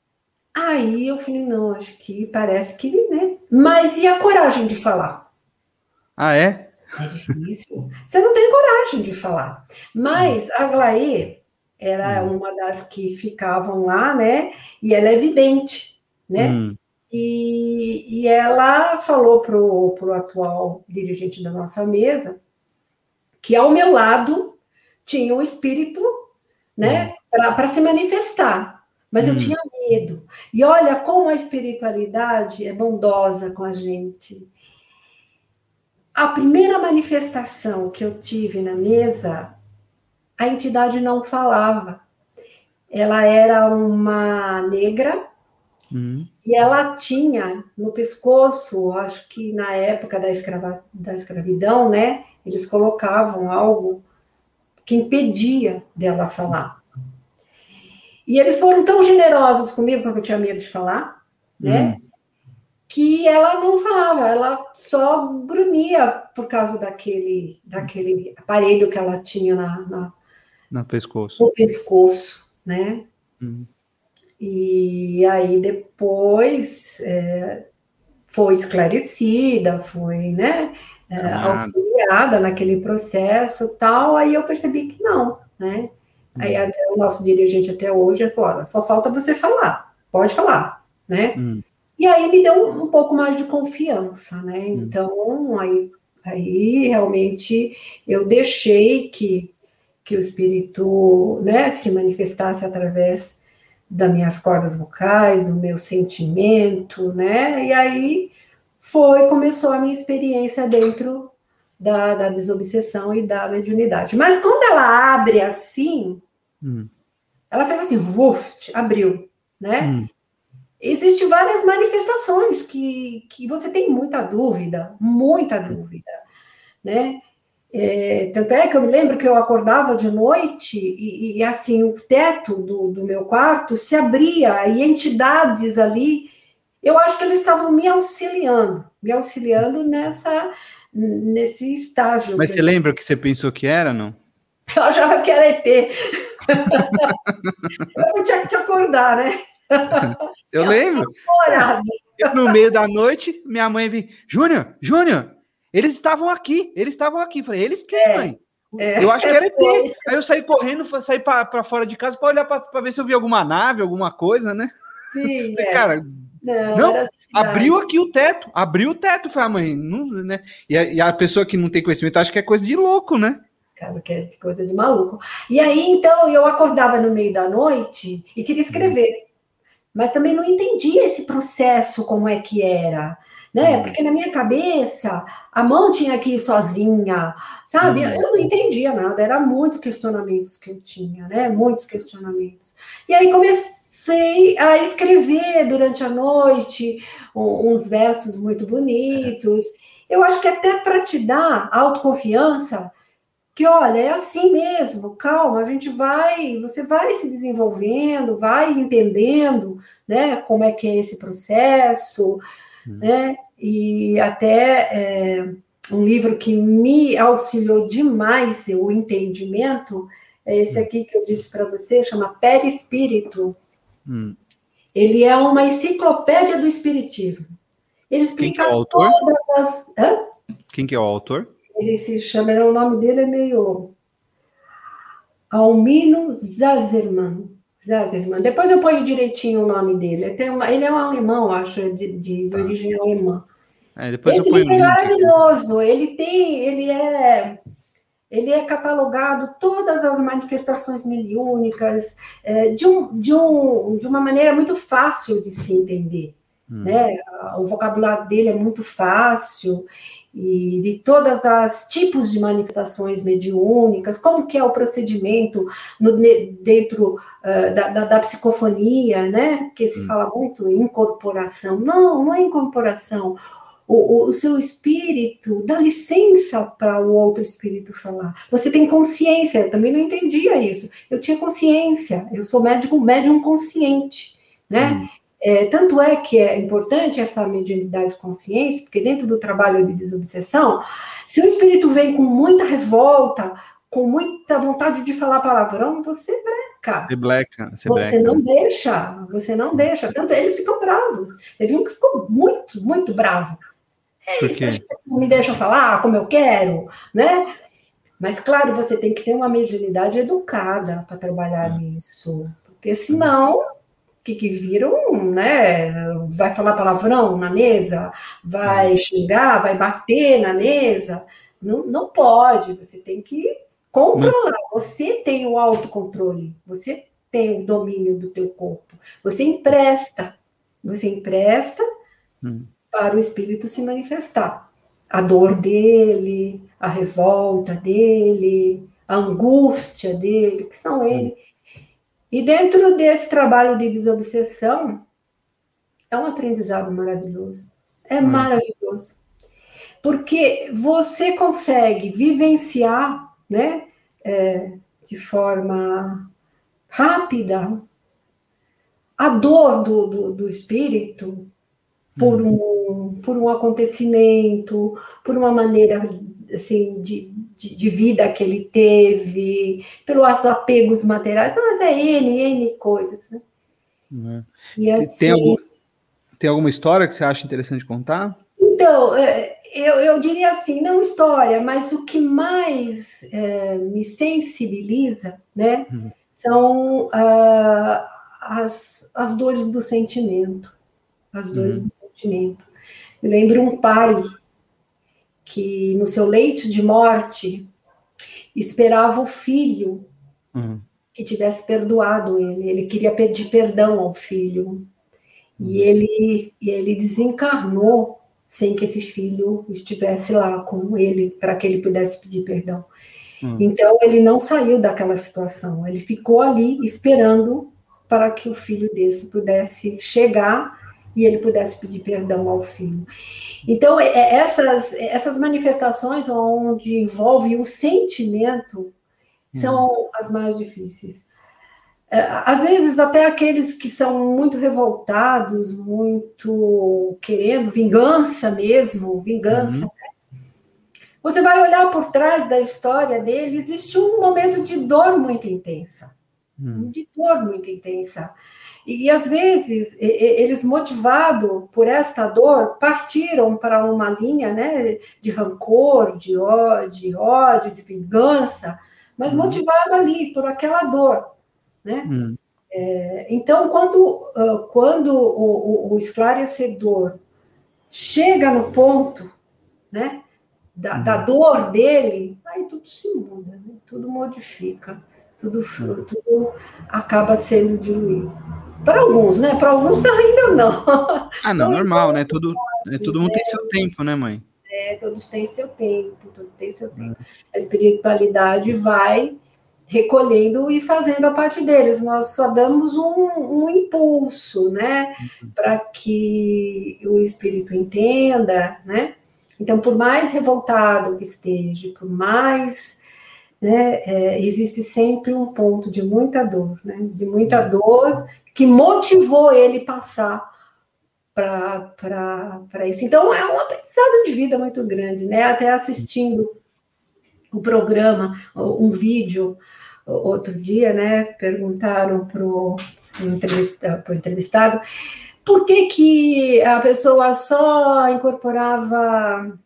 aí eu falei, não, acho que parece que, né? Mas e a coragem de falar? Ah, é? É difícil. Você não tem coragem de falar. Mas a Aglaê era uhum. uma das que ficavam lá, né? E ela é vidente, né? Uhum. E, e ela falou para o atual dirigente da nossa mesa que ao meu lado tinha um espírito, né, hum. para se manifestar, mas hum. eu tinha medo. E olha como a espiritualidade é bondosa com a gente. A primeira manifestação que eu tive na mesa, a entidade não falava. Ela era uma negra, hum. e ela tinha no pescoço, acho que na época da, escrava, da escravidão, né, eles colocavam algo que impedia dela falar. E eles foram tão generosos comigo, porque eu tinha medo de falar, né, hum. que ela não falava, ela só grunhia por causa daquele, daquele aparelho que ela tinha na, na, no pescoço. No pescoço, né? Hum. E aí depois é, foi esclarecida, foi, né, é, auxiliada naquele processo tal, aí eu percebi que não, né? Hum. Aí a, o nosso dirigente até hoje falou, só falta você falar, pode falar, né? Hum. E aí me deu um, um pouco mais de confiança, né? Hum. Então, aí, aí realmente eu deixei que, que o espírito, né, se manifestasse através das minhas cordas vocais, do meu sentimento, né? E aí foi, começou a minha experiência dentro da, da desobsessão e da mediunidade. Mas quando ela abre assim, hum. ela fez assim, vuft, abriu, né? Hum. Existem várias manifestações que, que você tem muita dúvida, muita dúvida, né? É, tanto é que eu me lembro que eu acordava de noite e, e assim, o teto do, do meu quarto se abria e entidades ali, eu acho que eles estavam me auxiliando, me auxiliando nessa, nesse estágio. Mas Que você lembra o que você pensou que era, não? eu achava que era E T. Eu tinha que te acordar, né? Eu lembro. É, eu, no meio da noite, minha mãe veio, Júnior, Júnior, eles estavam aqui, eles estavam aqui. Falei, eles quem, É, mãe? Eu acho é, que era E T. foi. Aí eu saí correndo, saí para fora de casa para olhar para ver se eu vi alguma nave, alguma coisa, né? Sim, Falei, é. cara, Não, não, era abriu cidade. aqui o teto, abriu o teto, foi a mãe, não, né? E a, e a pessoa que não tem conhecimento acha que é coisa de louco, né? Casa que é coisa de maluco. E aí, então, eu acordava no meio da noite e queria escrever, mas também não entendia esse processo, como é que era, né? Hum, Porque na minha cabeça, a mão tinha que ir sozinha, sabe? Eu hum, não entendia nada, era muitos questionamentos que eu tinha, né? Muitos questionamentos. E aí comecei a escrever durante a noite uns versos muito bonitos. Eu acho que até para te dar autoconfiança, que olha, é assim mesmo, calma, a gente vai, você vai se desenvolvendo, vai entendendo, né, como é que é esse processo, hum, né, e até é, um livro que me auxiliou demais o entendimento é esse hum, aqui que eu disse para você, chama Perispírito. hum. Ele é uma enciclopédia do espiritismo. Ele Quem que é o explica autor? todas as... Hã? Quem que é o autor? Ele se chama, o nome dele é meio Almino Zazerman. Zazerman. Depois eu ponho direitinho o nome dele. Ele, uma, ele é um alemão, acho, de, de, de Tá. origem alemã. É, depois eu Esse ponho o livro é link aqui. maravilhoso. Ele tem, ele é, ele é catalogado todas as manifestações mediúnicas é, de, um, de, um, de uma maneira muito fácil de se entender. Hum, Né? O vocabulário dele é muito fácil e de todas as tipos de manifestações mediúnicas, como que é o procedimento no, dentro uh, da, da, da psicofonia, né? Que se hum. fala muito em incorporação. Não, não é incorporação. O, o, o seu espírito dá licença para o outro espírito falar. Você tem consciência, eu também não entendia isso. Eu tinha consciência, eu sou médium, médium consciente, né? Hum. É, tanto é que é importante essa mediunidade de consciência, porque dentro do trabalho de desobsessão, se o espírito vem com muita revolta, com muita vontade de falar palavrão, você breca. Você bleca, você Você bleca, não né? deixa, você não deixa. Tanto eles ficam bravos. Teve um que ficou muito, muito bravo. É Por isso, quê? não me deixa falar como eu quero, né? Mas, claro, você tem que ter uma mediunidade educada para trabalhar É, nisso. Porque é. senão que, que viram, né? Vai falar palavrão na mesa, vai Hum. xingar, vai bater na mesa. Não, não pode, você tem que Mas, controlar. Você tem o autocontrole, você tem o domínio do teu corpo. Você empresta, você empresta hum, para o espírito se manifestar. A dor dele, a revolta dele, a angústia dele, que são hum, ele. E dentro desse trabalho de desobsessão, é um aprendizado maravilhoso. É é. maravilhoso. Porque você consegue vivenciar, né, é, de forma rápida a dor do, do, do espírito por Hum. um, por um acontecimento, por uma maneira assim, de, de, de vida que ele teve, pelos apegos materiais, mas é N, N coisas, né? É. E Tem, tem algum, assim, tem alguma história que você acha interessante contar? então, é, eu, eu diria assim, não história, mas o que mais é, me sensibiliza, né, Hum, são ah, as, as dores do sentimento, as dores hum, do sentimento. Me lembro um pai que no seu leito de morte esperava o filho hum, que tivesse perdoado ele, ele queria pedir perdão ao filho, e hum, ele, e ele desencarnou sem que esse filho estivesse lá com ele, para que ele pudesse pedir perdão. hum, Então, ele não saiu daquela situação, ele ficou ali esperando para que o filho desse pudesse chegar e ele pudesse pedir perdão ao filho. Então, essas, essas manifestações onde envolve o sentimento são hum. as mais difíceis. Às vezes, até aqueles que são muito revoltados, muito querendo vingança mesmo, vingança, uhum. né? Você vai olhar por trás da história dele, existe um momento de dor muito intensa, uhum. de dor muito intensa. E, às vezes, eles, motivados por esta dor, partiram para uma linha, né, de rancor, de ódio, de, ódio, de vingança, mas uhum. motivado ali por aquela dor. Né? Hum. É, então, quando, quando o, o, o esclarecedor chega no ponto, né, da, hum. da dor dele, aí tudo se muda, né? Tudo modifica, tudo, hum. tudo acaba sendo diluído. Para alguns, né? Para alguns ainda não. Ah, não, então, normal, né? Tudo, é, todo mundo né? tem seu tempo, né, mãe? É, todos têm seu tempo, todos têm seu tempo. Hum. A espiritualidade vai recolhendo e fazendo a parte deles. Nós só damos um, um impulso, né, uhum. para que o espírito entenda, né? Então, por mais revoltado que esteja, por mais, né, é, existe sempre um ponto de muita dor, né, de muita uhum. dor que motivou ele passar para isso. Então, é um aprendizado de vida muito grande, né? Até assistindo o programa, um vídeo, outro dia, né, perguntaram para o entrevistado, entrevistado por que, que a pessoa só incorporava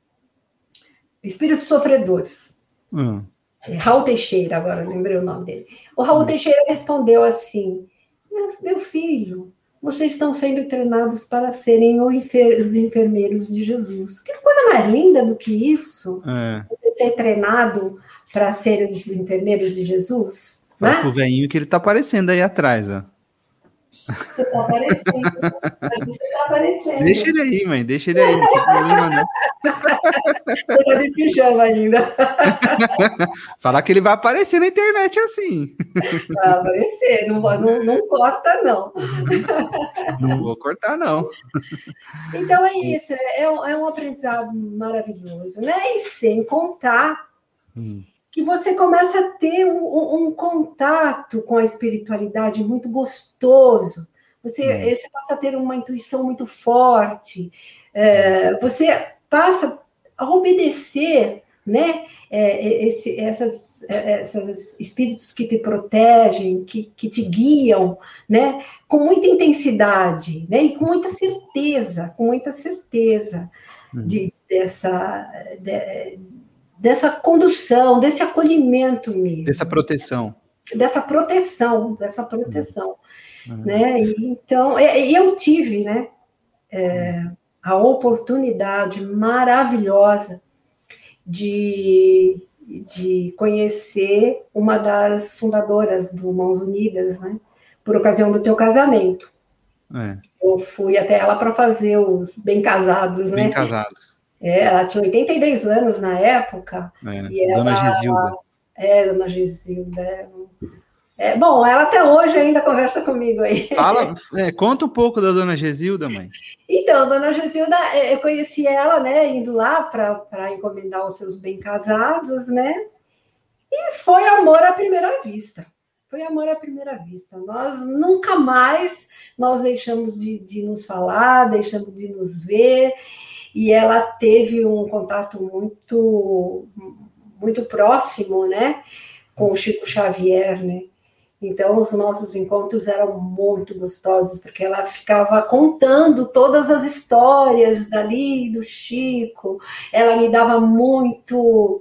espíritos sofredores. Hum. Raul Teixeira, agora lembrei o nome dele. O Raul hum. Teixeira respondeu assim, meu filho, vocês estão sendo treinados para serem os enfermeiros de Jesus. Que coisa mais linda do que isso? É. Você ser treinado para ser os enfermeiros de Jesus? Fala né? Pro velhinho que ele está aparecendo aí atrás, ó. Você está aparecendo. Você está aparecendo. Deixa ele aí, mãe. Deixa ele aí. Não tem problema, não. Você está de pijama ainda. Falar que ele vai aparecer na internet assim. Vai aparecer. Não, não, não corta, não. Não vou cortar, não. Então é isso. É um, é um aprendizado maravilhoso, né? E sem contar hum. que você começa a ter um, um contato com a espiritualidade muito gostoso. Você, hum. você passa a ter uma intuição muito forte. É, você passa a obedecer, né? É, esse, essas, essas espíritos que te protegem, que, que te guiam, né? Com muita intensidade, né? E com muita certeza, com muita certeza hum. de, dessa... De, dessa condução, desse acolhimento mesmo. Dessa proteção. Dessa proteção, dessa proteção. Uhum. Né? E, então, eu tive, né, é, a oportunidade maravilhosa de, de conhecer uma das fundadoras do Mãos Unidas, né, por ocasião do teu casamento. É. Eu fui até ela para fazer os bem casados, bem né? casados. É, ela tinha oitenta e dois anos na época. É, e Dona ela, Gisilda. É, Dona Gisilda. É, bom, ela até hoje ainda conversa comigo aí. Fala, é, conta um pouco da Dona Gisilda, mãe. Então, Dona Gisilda, eu conheci ela, né, indo lá para encomendar os seus bem casados, né? E foi amor à primeira vista. Foi amor à primeira vista. Nós nunca mais nós deixamos de, de nos falar, deixamos de nos ver. E ela teve um contato muito, muito próximo, né, com o Chico Xavier, né? Então, os nossos encontros eram muito gostosos, porque ela ficava contando todas as histórias dali do Chico. Ela me dava muito,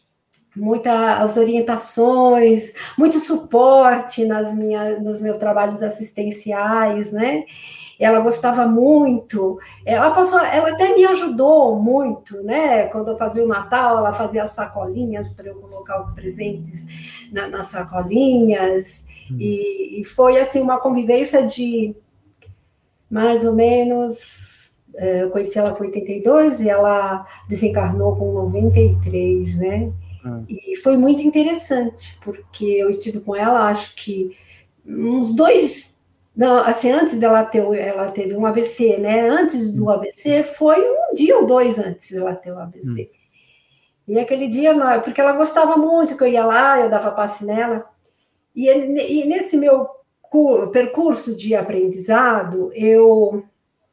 muitas orientações, muito suporte nas minhas, nos meus trabalhos assistenciais, né? Ela gostava muito, ela passou, ela até me ajudou muito, né? Quando eu fazia o Natal, ela fazia as sacolinhas para eu colocar os presentes na, nas sacolinhas, hum. e, e foi assim uma convivência de mais ou menos, eu conheci ela com oitenta e dois e ela desencarnou com noventa e três, né? Hum. E foi muito interessante, porque eu estive com ela, acho que uns dois Não, assim, antes dela ter, ela teve um A V C, né? Antes do Hum, A V C, foi um dia ou dois antes dela ter o hum, A V C. E aquele dia, porque ela gostava muito que eu ia lá, eu dava passe nela. E, e nesse meu percurso de aprendizado, eu,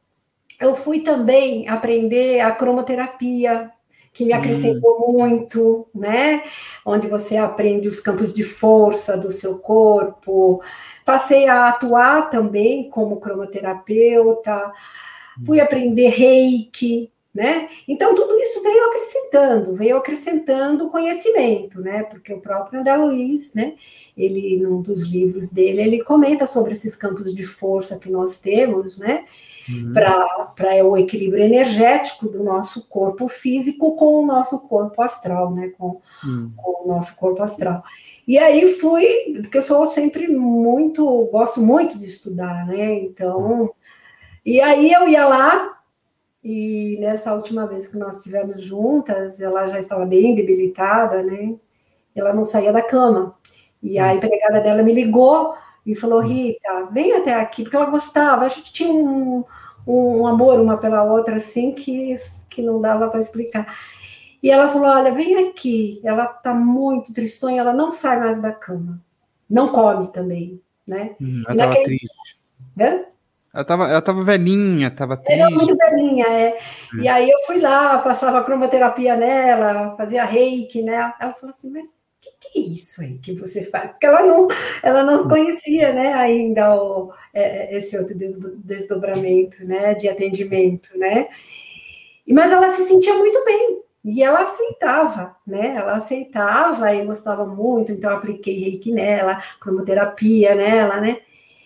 eu fui também aprender a cromoterapia, que me hum, acrescentou muito, né? Onde você aprende os campos de força do seu corpo. Passei a atuar também como cromoterapeuta, fui hum, aprender reiki, né? Então, tudo isso veio acrescentando, veio acrescentando conhecimento, né? Porque o próprio André Luiz, né? Ele, num dos livros dele, ele comenta sobre esses campos de força que nós temos, né? hum, Para o equilíbrio energético do nosso corpo físico com o nosso corpo astral, né? Com, hum, com o nosso corpo astral. E aí fui, porque eu sou sempre muito, gosto muito de estudar, né? hum. Então, e aí eu ia lá, e nessa última vez que nós estivemos juntas, ela já estava bem debilitada, né? Ela não saía da cama. E a Hum, empregada dela me ligou e falou: hum, Rita, vem até aqui, porque ela gostava. A gente tinha um, um amor uma pela outra, assim, que, que não dava para explicar. E ela falou: Olha, vem aqui. Ela está muito tristonha, ela não sai mais da cama. Não come também, né? hum. Ela E estava naquele. triste. Né? Ela estava, ela estava velhinha, estava Ela é triste. muito velhinha, é. E É. aí eu fui lá, passava cromoterapia nela, fazia reiki, né? Ela falou assim, mas o que, que é isso aí que você faz? Porque ela não, ela não Hum, conhecia, né, ainda o, é, esse outro desdobramento, né, de atendimento, né? Mas ela se sentia muito bem. E ela aceitava, né? Ela aceitava e gostava muito, então eu apliquei reiki nela, cromoterapia nela, né?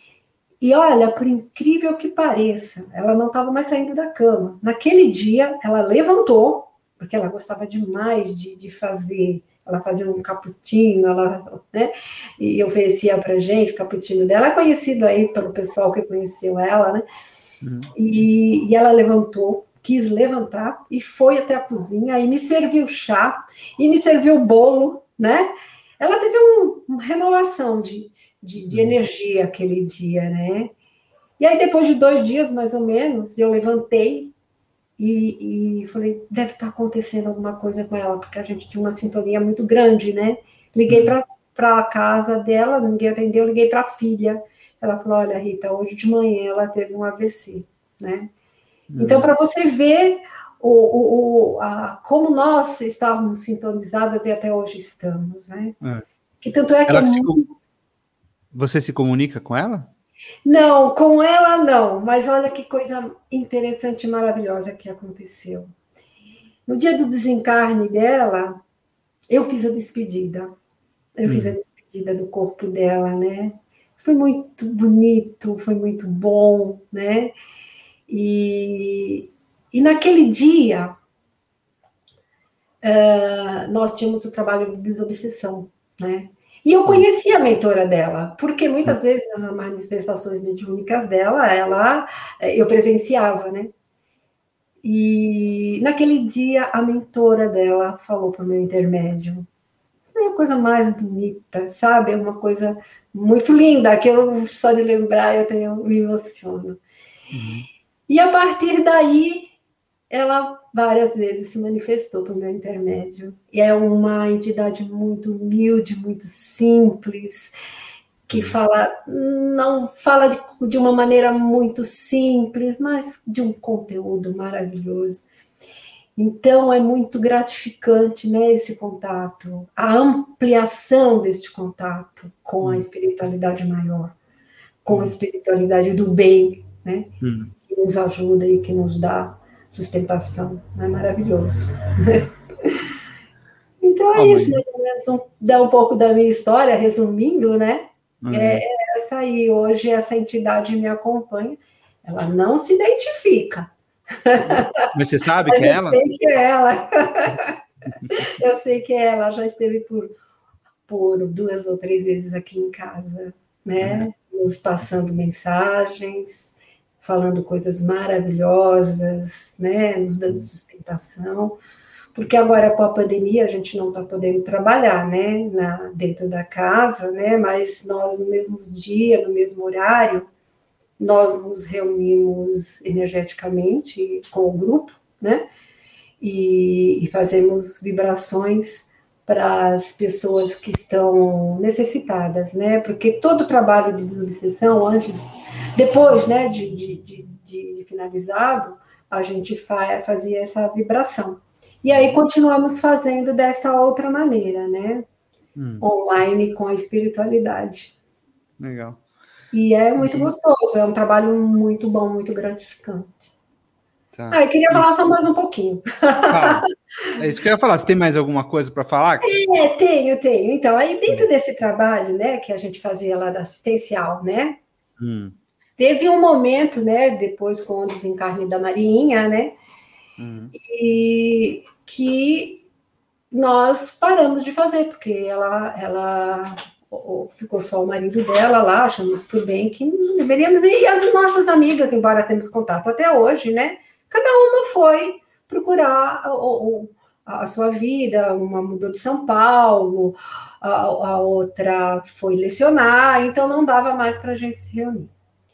E olha, por incrível que pareça, ela não estava mais saindo da cama. Naquele dia, ela levantou, porque ela gostava demais de, de fazer. Ela fazia um cappuccino, ela, né? E oferecia para gente o cappuccino dela. É conhecido aí pelo pessoal que conheceu ela, né? hum, E, e ela levantou, quis levantar e foi até a cozinha e me serviu chá e me serviu bolo, né? Ela teve um, uma renovação de, de, de hum, energia aquele dia, né? E aí, depois de dois dias, mais ou menos, eu levantei e, e falei, deve estar acontecendo alguma coisa com ela, porque a gente tinha uma sintonia muito grande, né? Liguei hum, para a casa dela, ninguém atendeu, liguei para a filha. Ela falou, olha, Rita, hoje de manhã ela teve um A V C, né? Então, hum. para você ver o, o, a, como nós estávamos sintonizadas e até hoje estamos, né? É. Que tanto é que é Ela que se, muito. com- você se comunica com ela? Não, com ela não, mas olha que coisa interessante e maravilhosa que aconteceu. No dia do desencarne dela, eu fiz a despedida. Eu fiz a Hum, despedida do corpo dela, né? Foi muito bonito, foi muito bom, né? E, e naquele dia, nós tínhamos o trabalho de desobsessão, né? E eu hum, conhecia a mentora dela, porque hum, muitas vezes as manifestações mediúnicas dela, ela, eu presenciava, né? E naquele dia a mentora dela falou para o meu intermédio. É a coisa mais bonita, sabe? É uma coisa muito linda, que eu só de lembrar eu tenho, me emociono. hum, E a partir daí, ela várias vezes se manifestou por meu intermédio. E é uma entidade muito humilde, muito simples, que hum. fala, não fala de, de uma maneira muito simples, mas de um conteúdo maravilhoso. Então é muito gratificante, né, esse contato, a ampliação deste contato com a Hum, espiritualidade maior, com a hum, espiritualidade do bem, né, hum. que nos ajuda e que nos dá sustentação. É maravilhoso. Então é Ó, isso, mãe. mais ou menos, um, dá um pouco da minha história, resumindo, né? É, É. é essa aí, hoje essa entidade me acompanha, ela não se identifica, Mas você sabe que mas é eu ela? sei que é ela, eu sei que é ela, já esteve por, por duas ou três vezes aqui em casa, É. né? Nos passando mensagens, falando coisas maravilhosas, né? Nos dando Hum, sustentação. Porque agora com a pandemia a gente não está podendo trabalhar, né, na, dentro da casa, né, mas nós no mesmo dia, no mesmo horário, nós nos reunimos energeticamente com o grupo, né? E, e fazemos vibrações para as pessoas que estão necessitadas, né? Porque todo o trabalho de desobsessão, antes, depois, né, de, de, de, de finalizado, a gente fa fazia essa vibração. E aí continuamos fazendo dessa outra maneira, né? Hum. Online com a espiritualidade. Legal. E é muito e... gostoso, é um trabalho muito bom, muito gratificante. Tá. Ah, eu queria falar e... só mais um pouquinho. Fala. É isso que eu ia falar. Você tem mais alguma coisa para falar? É, tenho, tenho. Então, aí dentro desse trabalho, né, que a gente fazia lá da assistencial, né, hum. teve um momento, né, depois com o desencarne da Marinha, né, hum. e que nós paramos de fazer, porque ela, ela ficou só o marido dela lá, achamos por bem que não deveríamos ir, e as nossas amigas, embora temos contato até hoje, né, cada uma foi procurar o, o a sua vida, uma mudou de São Paulo, a, a outra foi lecionar, então não dava mais para a gente se reunir.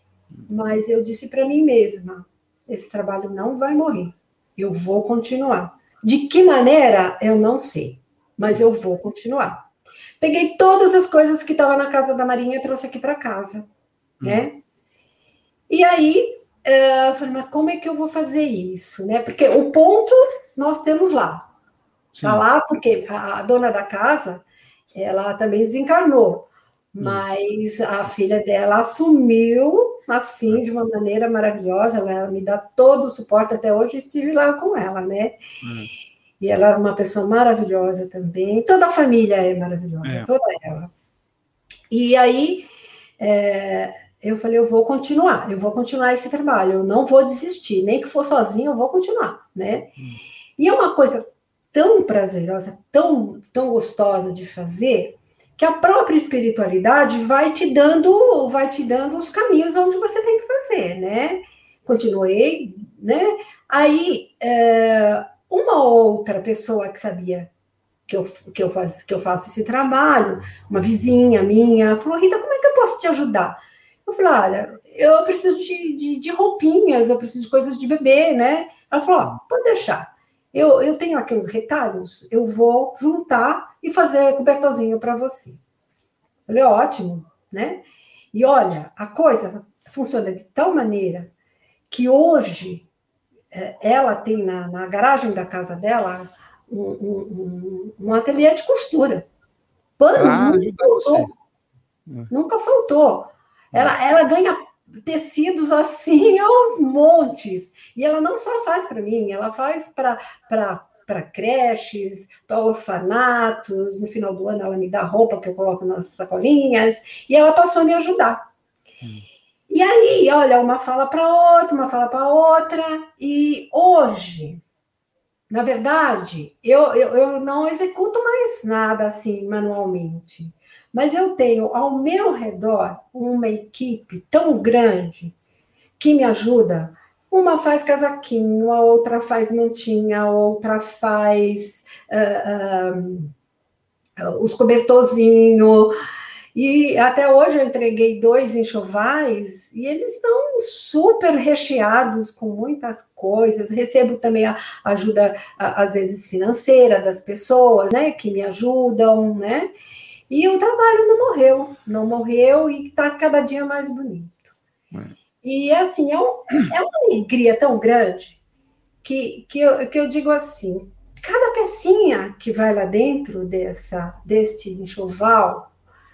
Mas eu disse para mim mesma, esse trabalho não vai morrer, eu vou continuar. De que maneira, eu não sei, mas eu vou continuar. Peguei todas as coisas que estavam na casa da Marinha e trouxe aqui para casa, hum. né? E aí, eu falei, mas como é que eu vou fazer isso, né? Porque o ponto nós temos lá. Está lá porque a dona da casa, ela também desencarnou, mas hum. a filha dela assumiu, assim, de uma maneira maravilhosa, ela me dá todo o suporte, até hoje estive lá com ela, né? Hum. E ela é uma pessoa maravilhosa também, toda a família é maravilhosa, é. toda ela. E aí, é, eu falei, eu vou continuar, eu vou continuar esse trabalho, eu não vou desistir, nem que for sozinho, eu vou continuar, né? Hum. E é uma coisa tão prazerosa, tão, tão gostosa de fazer, que a própria espiritualidade vai te dando, vai te dando os caminhos onde você tem que fazer, né? Continuei, né? Aí, é, uma outra pessoa que sabia que eu, que, eu faz, que eu faço esse trabalho, uma vizinha minha, falou, Rita, como é que eu posso te ajudar? Eu falei, olha, eu preciso de, de, de roupinhas, eu preciso de coisas de bebê, né? Ela falou, ó, pode deixar. Eu, eu tenho aqui uns retalhos, eu vou juntar e fazer cobertorzinho para você. Eu falei, ótimo, né? E olha, a coisa funciona de tal maneira que hoje ela tem na, na garagem da casa dela um, um, um ateliê de costura. Panos ah, nunca faltou. Você. Nunca faltou. Ela, ela ganha tecidos assim aos montes. E ela não só faz para mim, ela faz para creches, para orfanatos. No final do ano ela me dá roupa que eu coloco nas sacolinhas. E ela passou a me ajudar. Hum. E aí, olha, uma fala para outra, uma fala para outra. E hoje, na verdade, eu, eu, eu não executo mais nada assim manualmente. Mas eu tenho ao meu redor uma equipe tão grande que me ajuda. Uma faz casaquinho, a outra faz mantinha, a outra faz uh, uh, os cobertorzinhos. E até hoje eu entreguei dois enxovais e eles estão super recheados com muitas coisas. Recebo também a ajuda, às vezes, financeira das pessoas, né, que me ajudam, né? E o trabalho não morreu, não morreu e está cada dia mais bonito. É. E, assim, é, um, é uma alegria tão grande que, que, eu, que eu digo assim, cada pecinha que vai lá dentro dessa, desse enxoval,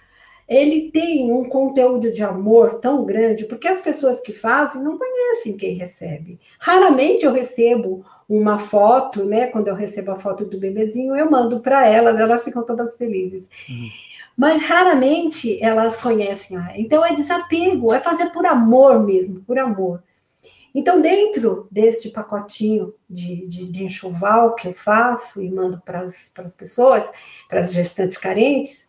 ele tem um conteúdo de amor tão grande, porque as pessoas que fazem não conhecem quem recebe. Raramente eu recebo uma foto, né? Quando eu recebo a foto do bebezinho, eu mando para elas, elas ficam todas felizes. Uhum. Mas raramente elas conhecem. Então é desapego, é fazer por amor mesmo, por amor. Então, dentro deste pacotinho de, de, de enxoval que eu faço e mando para as pessoas, para as gestantes carentes,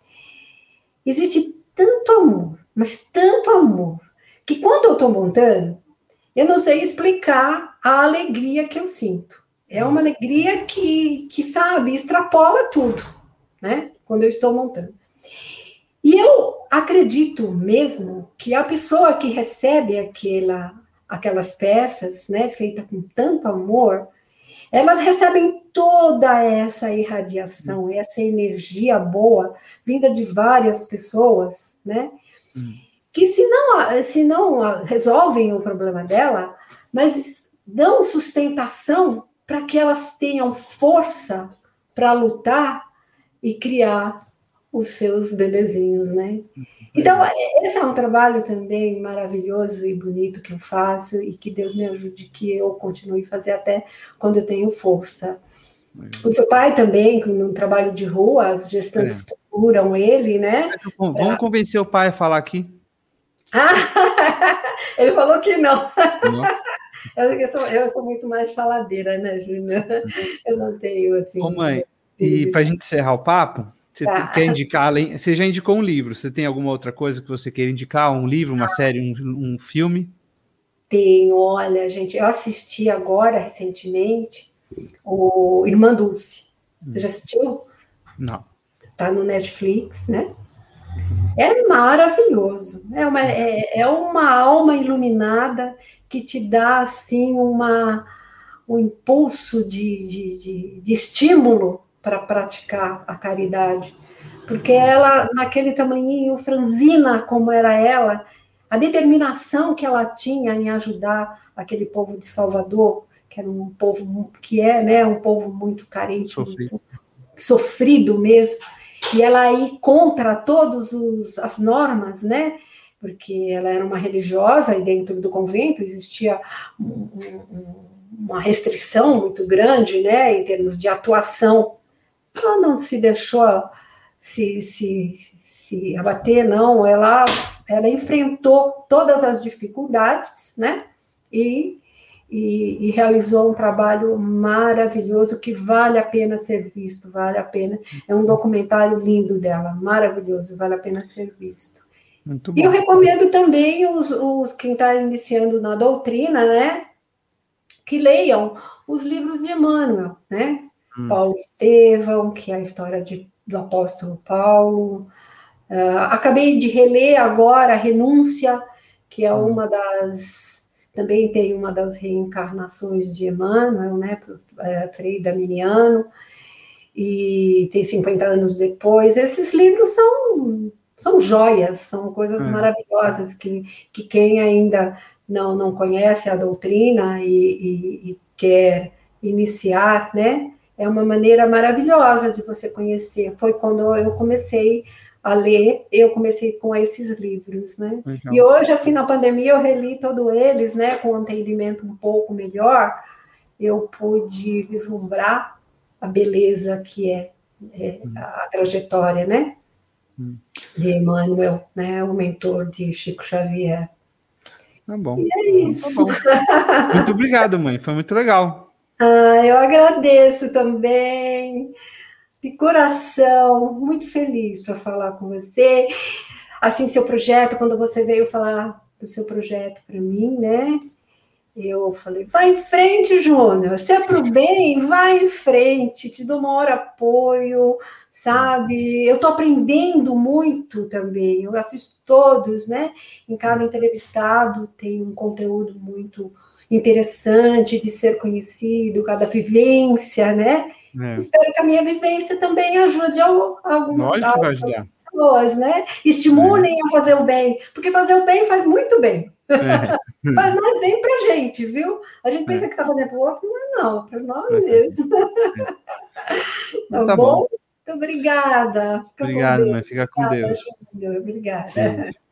existe tanto amor, mas tanto amor, que quando eu estou montando, eu não sei explicar a alegria que eu sinto. É uma alegria que, que sabe, extrapola tudo, né? Quando eu estou montando. E eu acredito mesmo que a pessoa que recebe aquela, aquelas peças, né, feitas com tanto amor, elas recebem toda essa irradiação, essa energia boa, vinda de várias pessoas, né? Hum. Que se não, se não resolvem o problema dela, mas dão sustentação para que elas tenham força para lutar e criar os seus bebezinhos, né? Então, esse é um trabalho também maravilhoso e bonito que eu faço e que Deus me ajude que eu continue a fazer até quando eu tenho força. O seu pai também, no trabalho de rua, as gestantes é. procuram ele, né? Vamos pra... convencer o pai a falar aqui. Ah, ele falou que não. não. Eu, eu, sou, eu sou muito mais faladeira, né, Júnior? Eu não tenho, assim... Ô, mãe, e para a gente encerrar o papo, você tá. quer indicar, além, você já indicou um livro, você tem alguma outra coisa que você queira indicar? Um livro, uma ah. série, um, um filme? Tenho, olha, gente, eu assisti agora, recentemente, o Irmã Dulce. Você já assistiu? Não. Tá no Netflix, né? É maravilhoso. É uma, é, é uma alma iluminada que te dá, assim, uma, um impulso de, de, de, de estímulo para praticar a caridade. Porque ela, naquele tamanhinho franzina como era ela, a determinação que ela tinha em ajudar aquele povo de Salvador, que era um povo que é, né, um povo muito carente, sofrido, muito, sofrido mesmo, e ela ir contra todas as normas, né, porque ela era uma religiosa e dentro do convento existia um, um, uma restrição muito grande, né, em termos de atuação. Ela não se deixou se, se, se abater, não, ela, ela enfrentou todas as dificuldades, né, e, e, e realizou um trabalho maravilhoso que vale a pena ser visto, vale a pena, é um documentário lindo dela, maravilhoso, vale a pena ser visto. Muito bom. E eu recomendo também os, os quem está iniciando na doutrina, né, que leiam os livros de Emmanuel, né, hum. Paulo Estevão, que é a história de do apóstolo Paulo. Uh, acabei de reler agora a Renúncia, que é uma das... Também tem uma das reencarnações de Emmanuel, né, é, Frei Daminiano, e tem cinquenta anos depois. Esses livros são, são joias, são coisas é. maravilhosas que, que quem ainda não, não conhece a doutrina e, e, e quer iniciar, né, é uma maneira maravilhosa de você conhecer. Foi quando eu comecei a ler, eu comecei com esses livros, né? Legal. E hoje, assim, na pandemia, eu reli todos eles, né? Com um entendimento um pouco melhor, eu pude vislumbrar a beleza que é, é hum. a trajetória, né? Hum. De Emmanuel, né? O mentor de Chico Xavier. Tá bom. E é isso. Tá bom. Muito obrigado, mãe. Foi muito legal. Ah, eu agradeço também, de coração, muito feliz para falar com você. Assim, seu projeto, quando você veio falar do seu projeto para mim, né? Eu falei, vai em frente, Júnior, se é para o bem, vai em frente, te dou o maior apoio, sabe? Eu estou aprendendo muito também, eu assisto todos, né? Em cada entrevistado tem um conteúdo muito interessante de ser conhecido, cada vivência, né? É. Espero que a minha vivência também ajude algumas pessoas, né? Estimulem é. a fazer o bem, porque fazer o bem faz muito bem. É. Faz mais bem pra gente, viu? A gente pensa é. que tá fazendo pro outro, mas não, para nós é. mesmo. Tá, tá bom? bom? Muito obrigada. Fica Obrigado, mãe. Fica com obrigada, Deus. Júnior. Obrigada.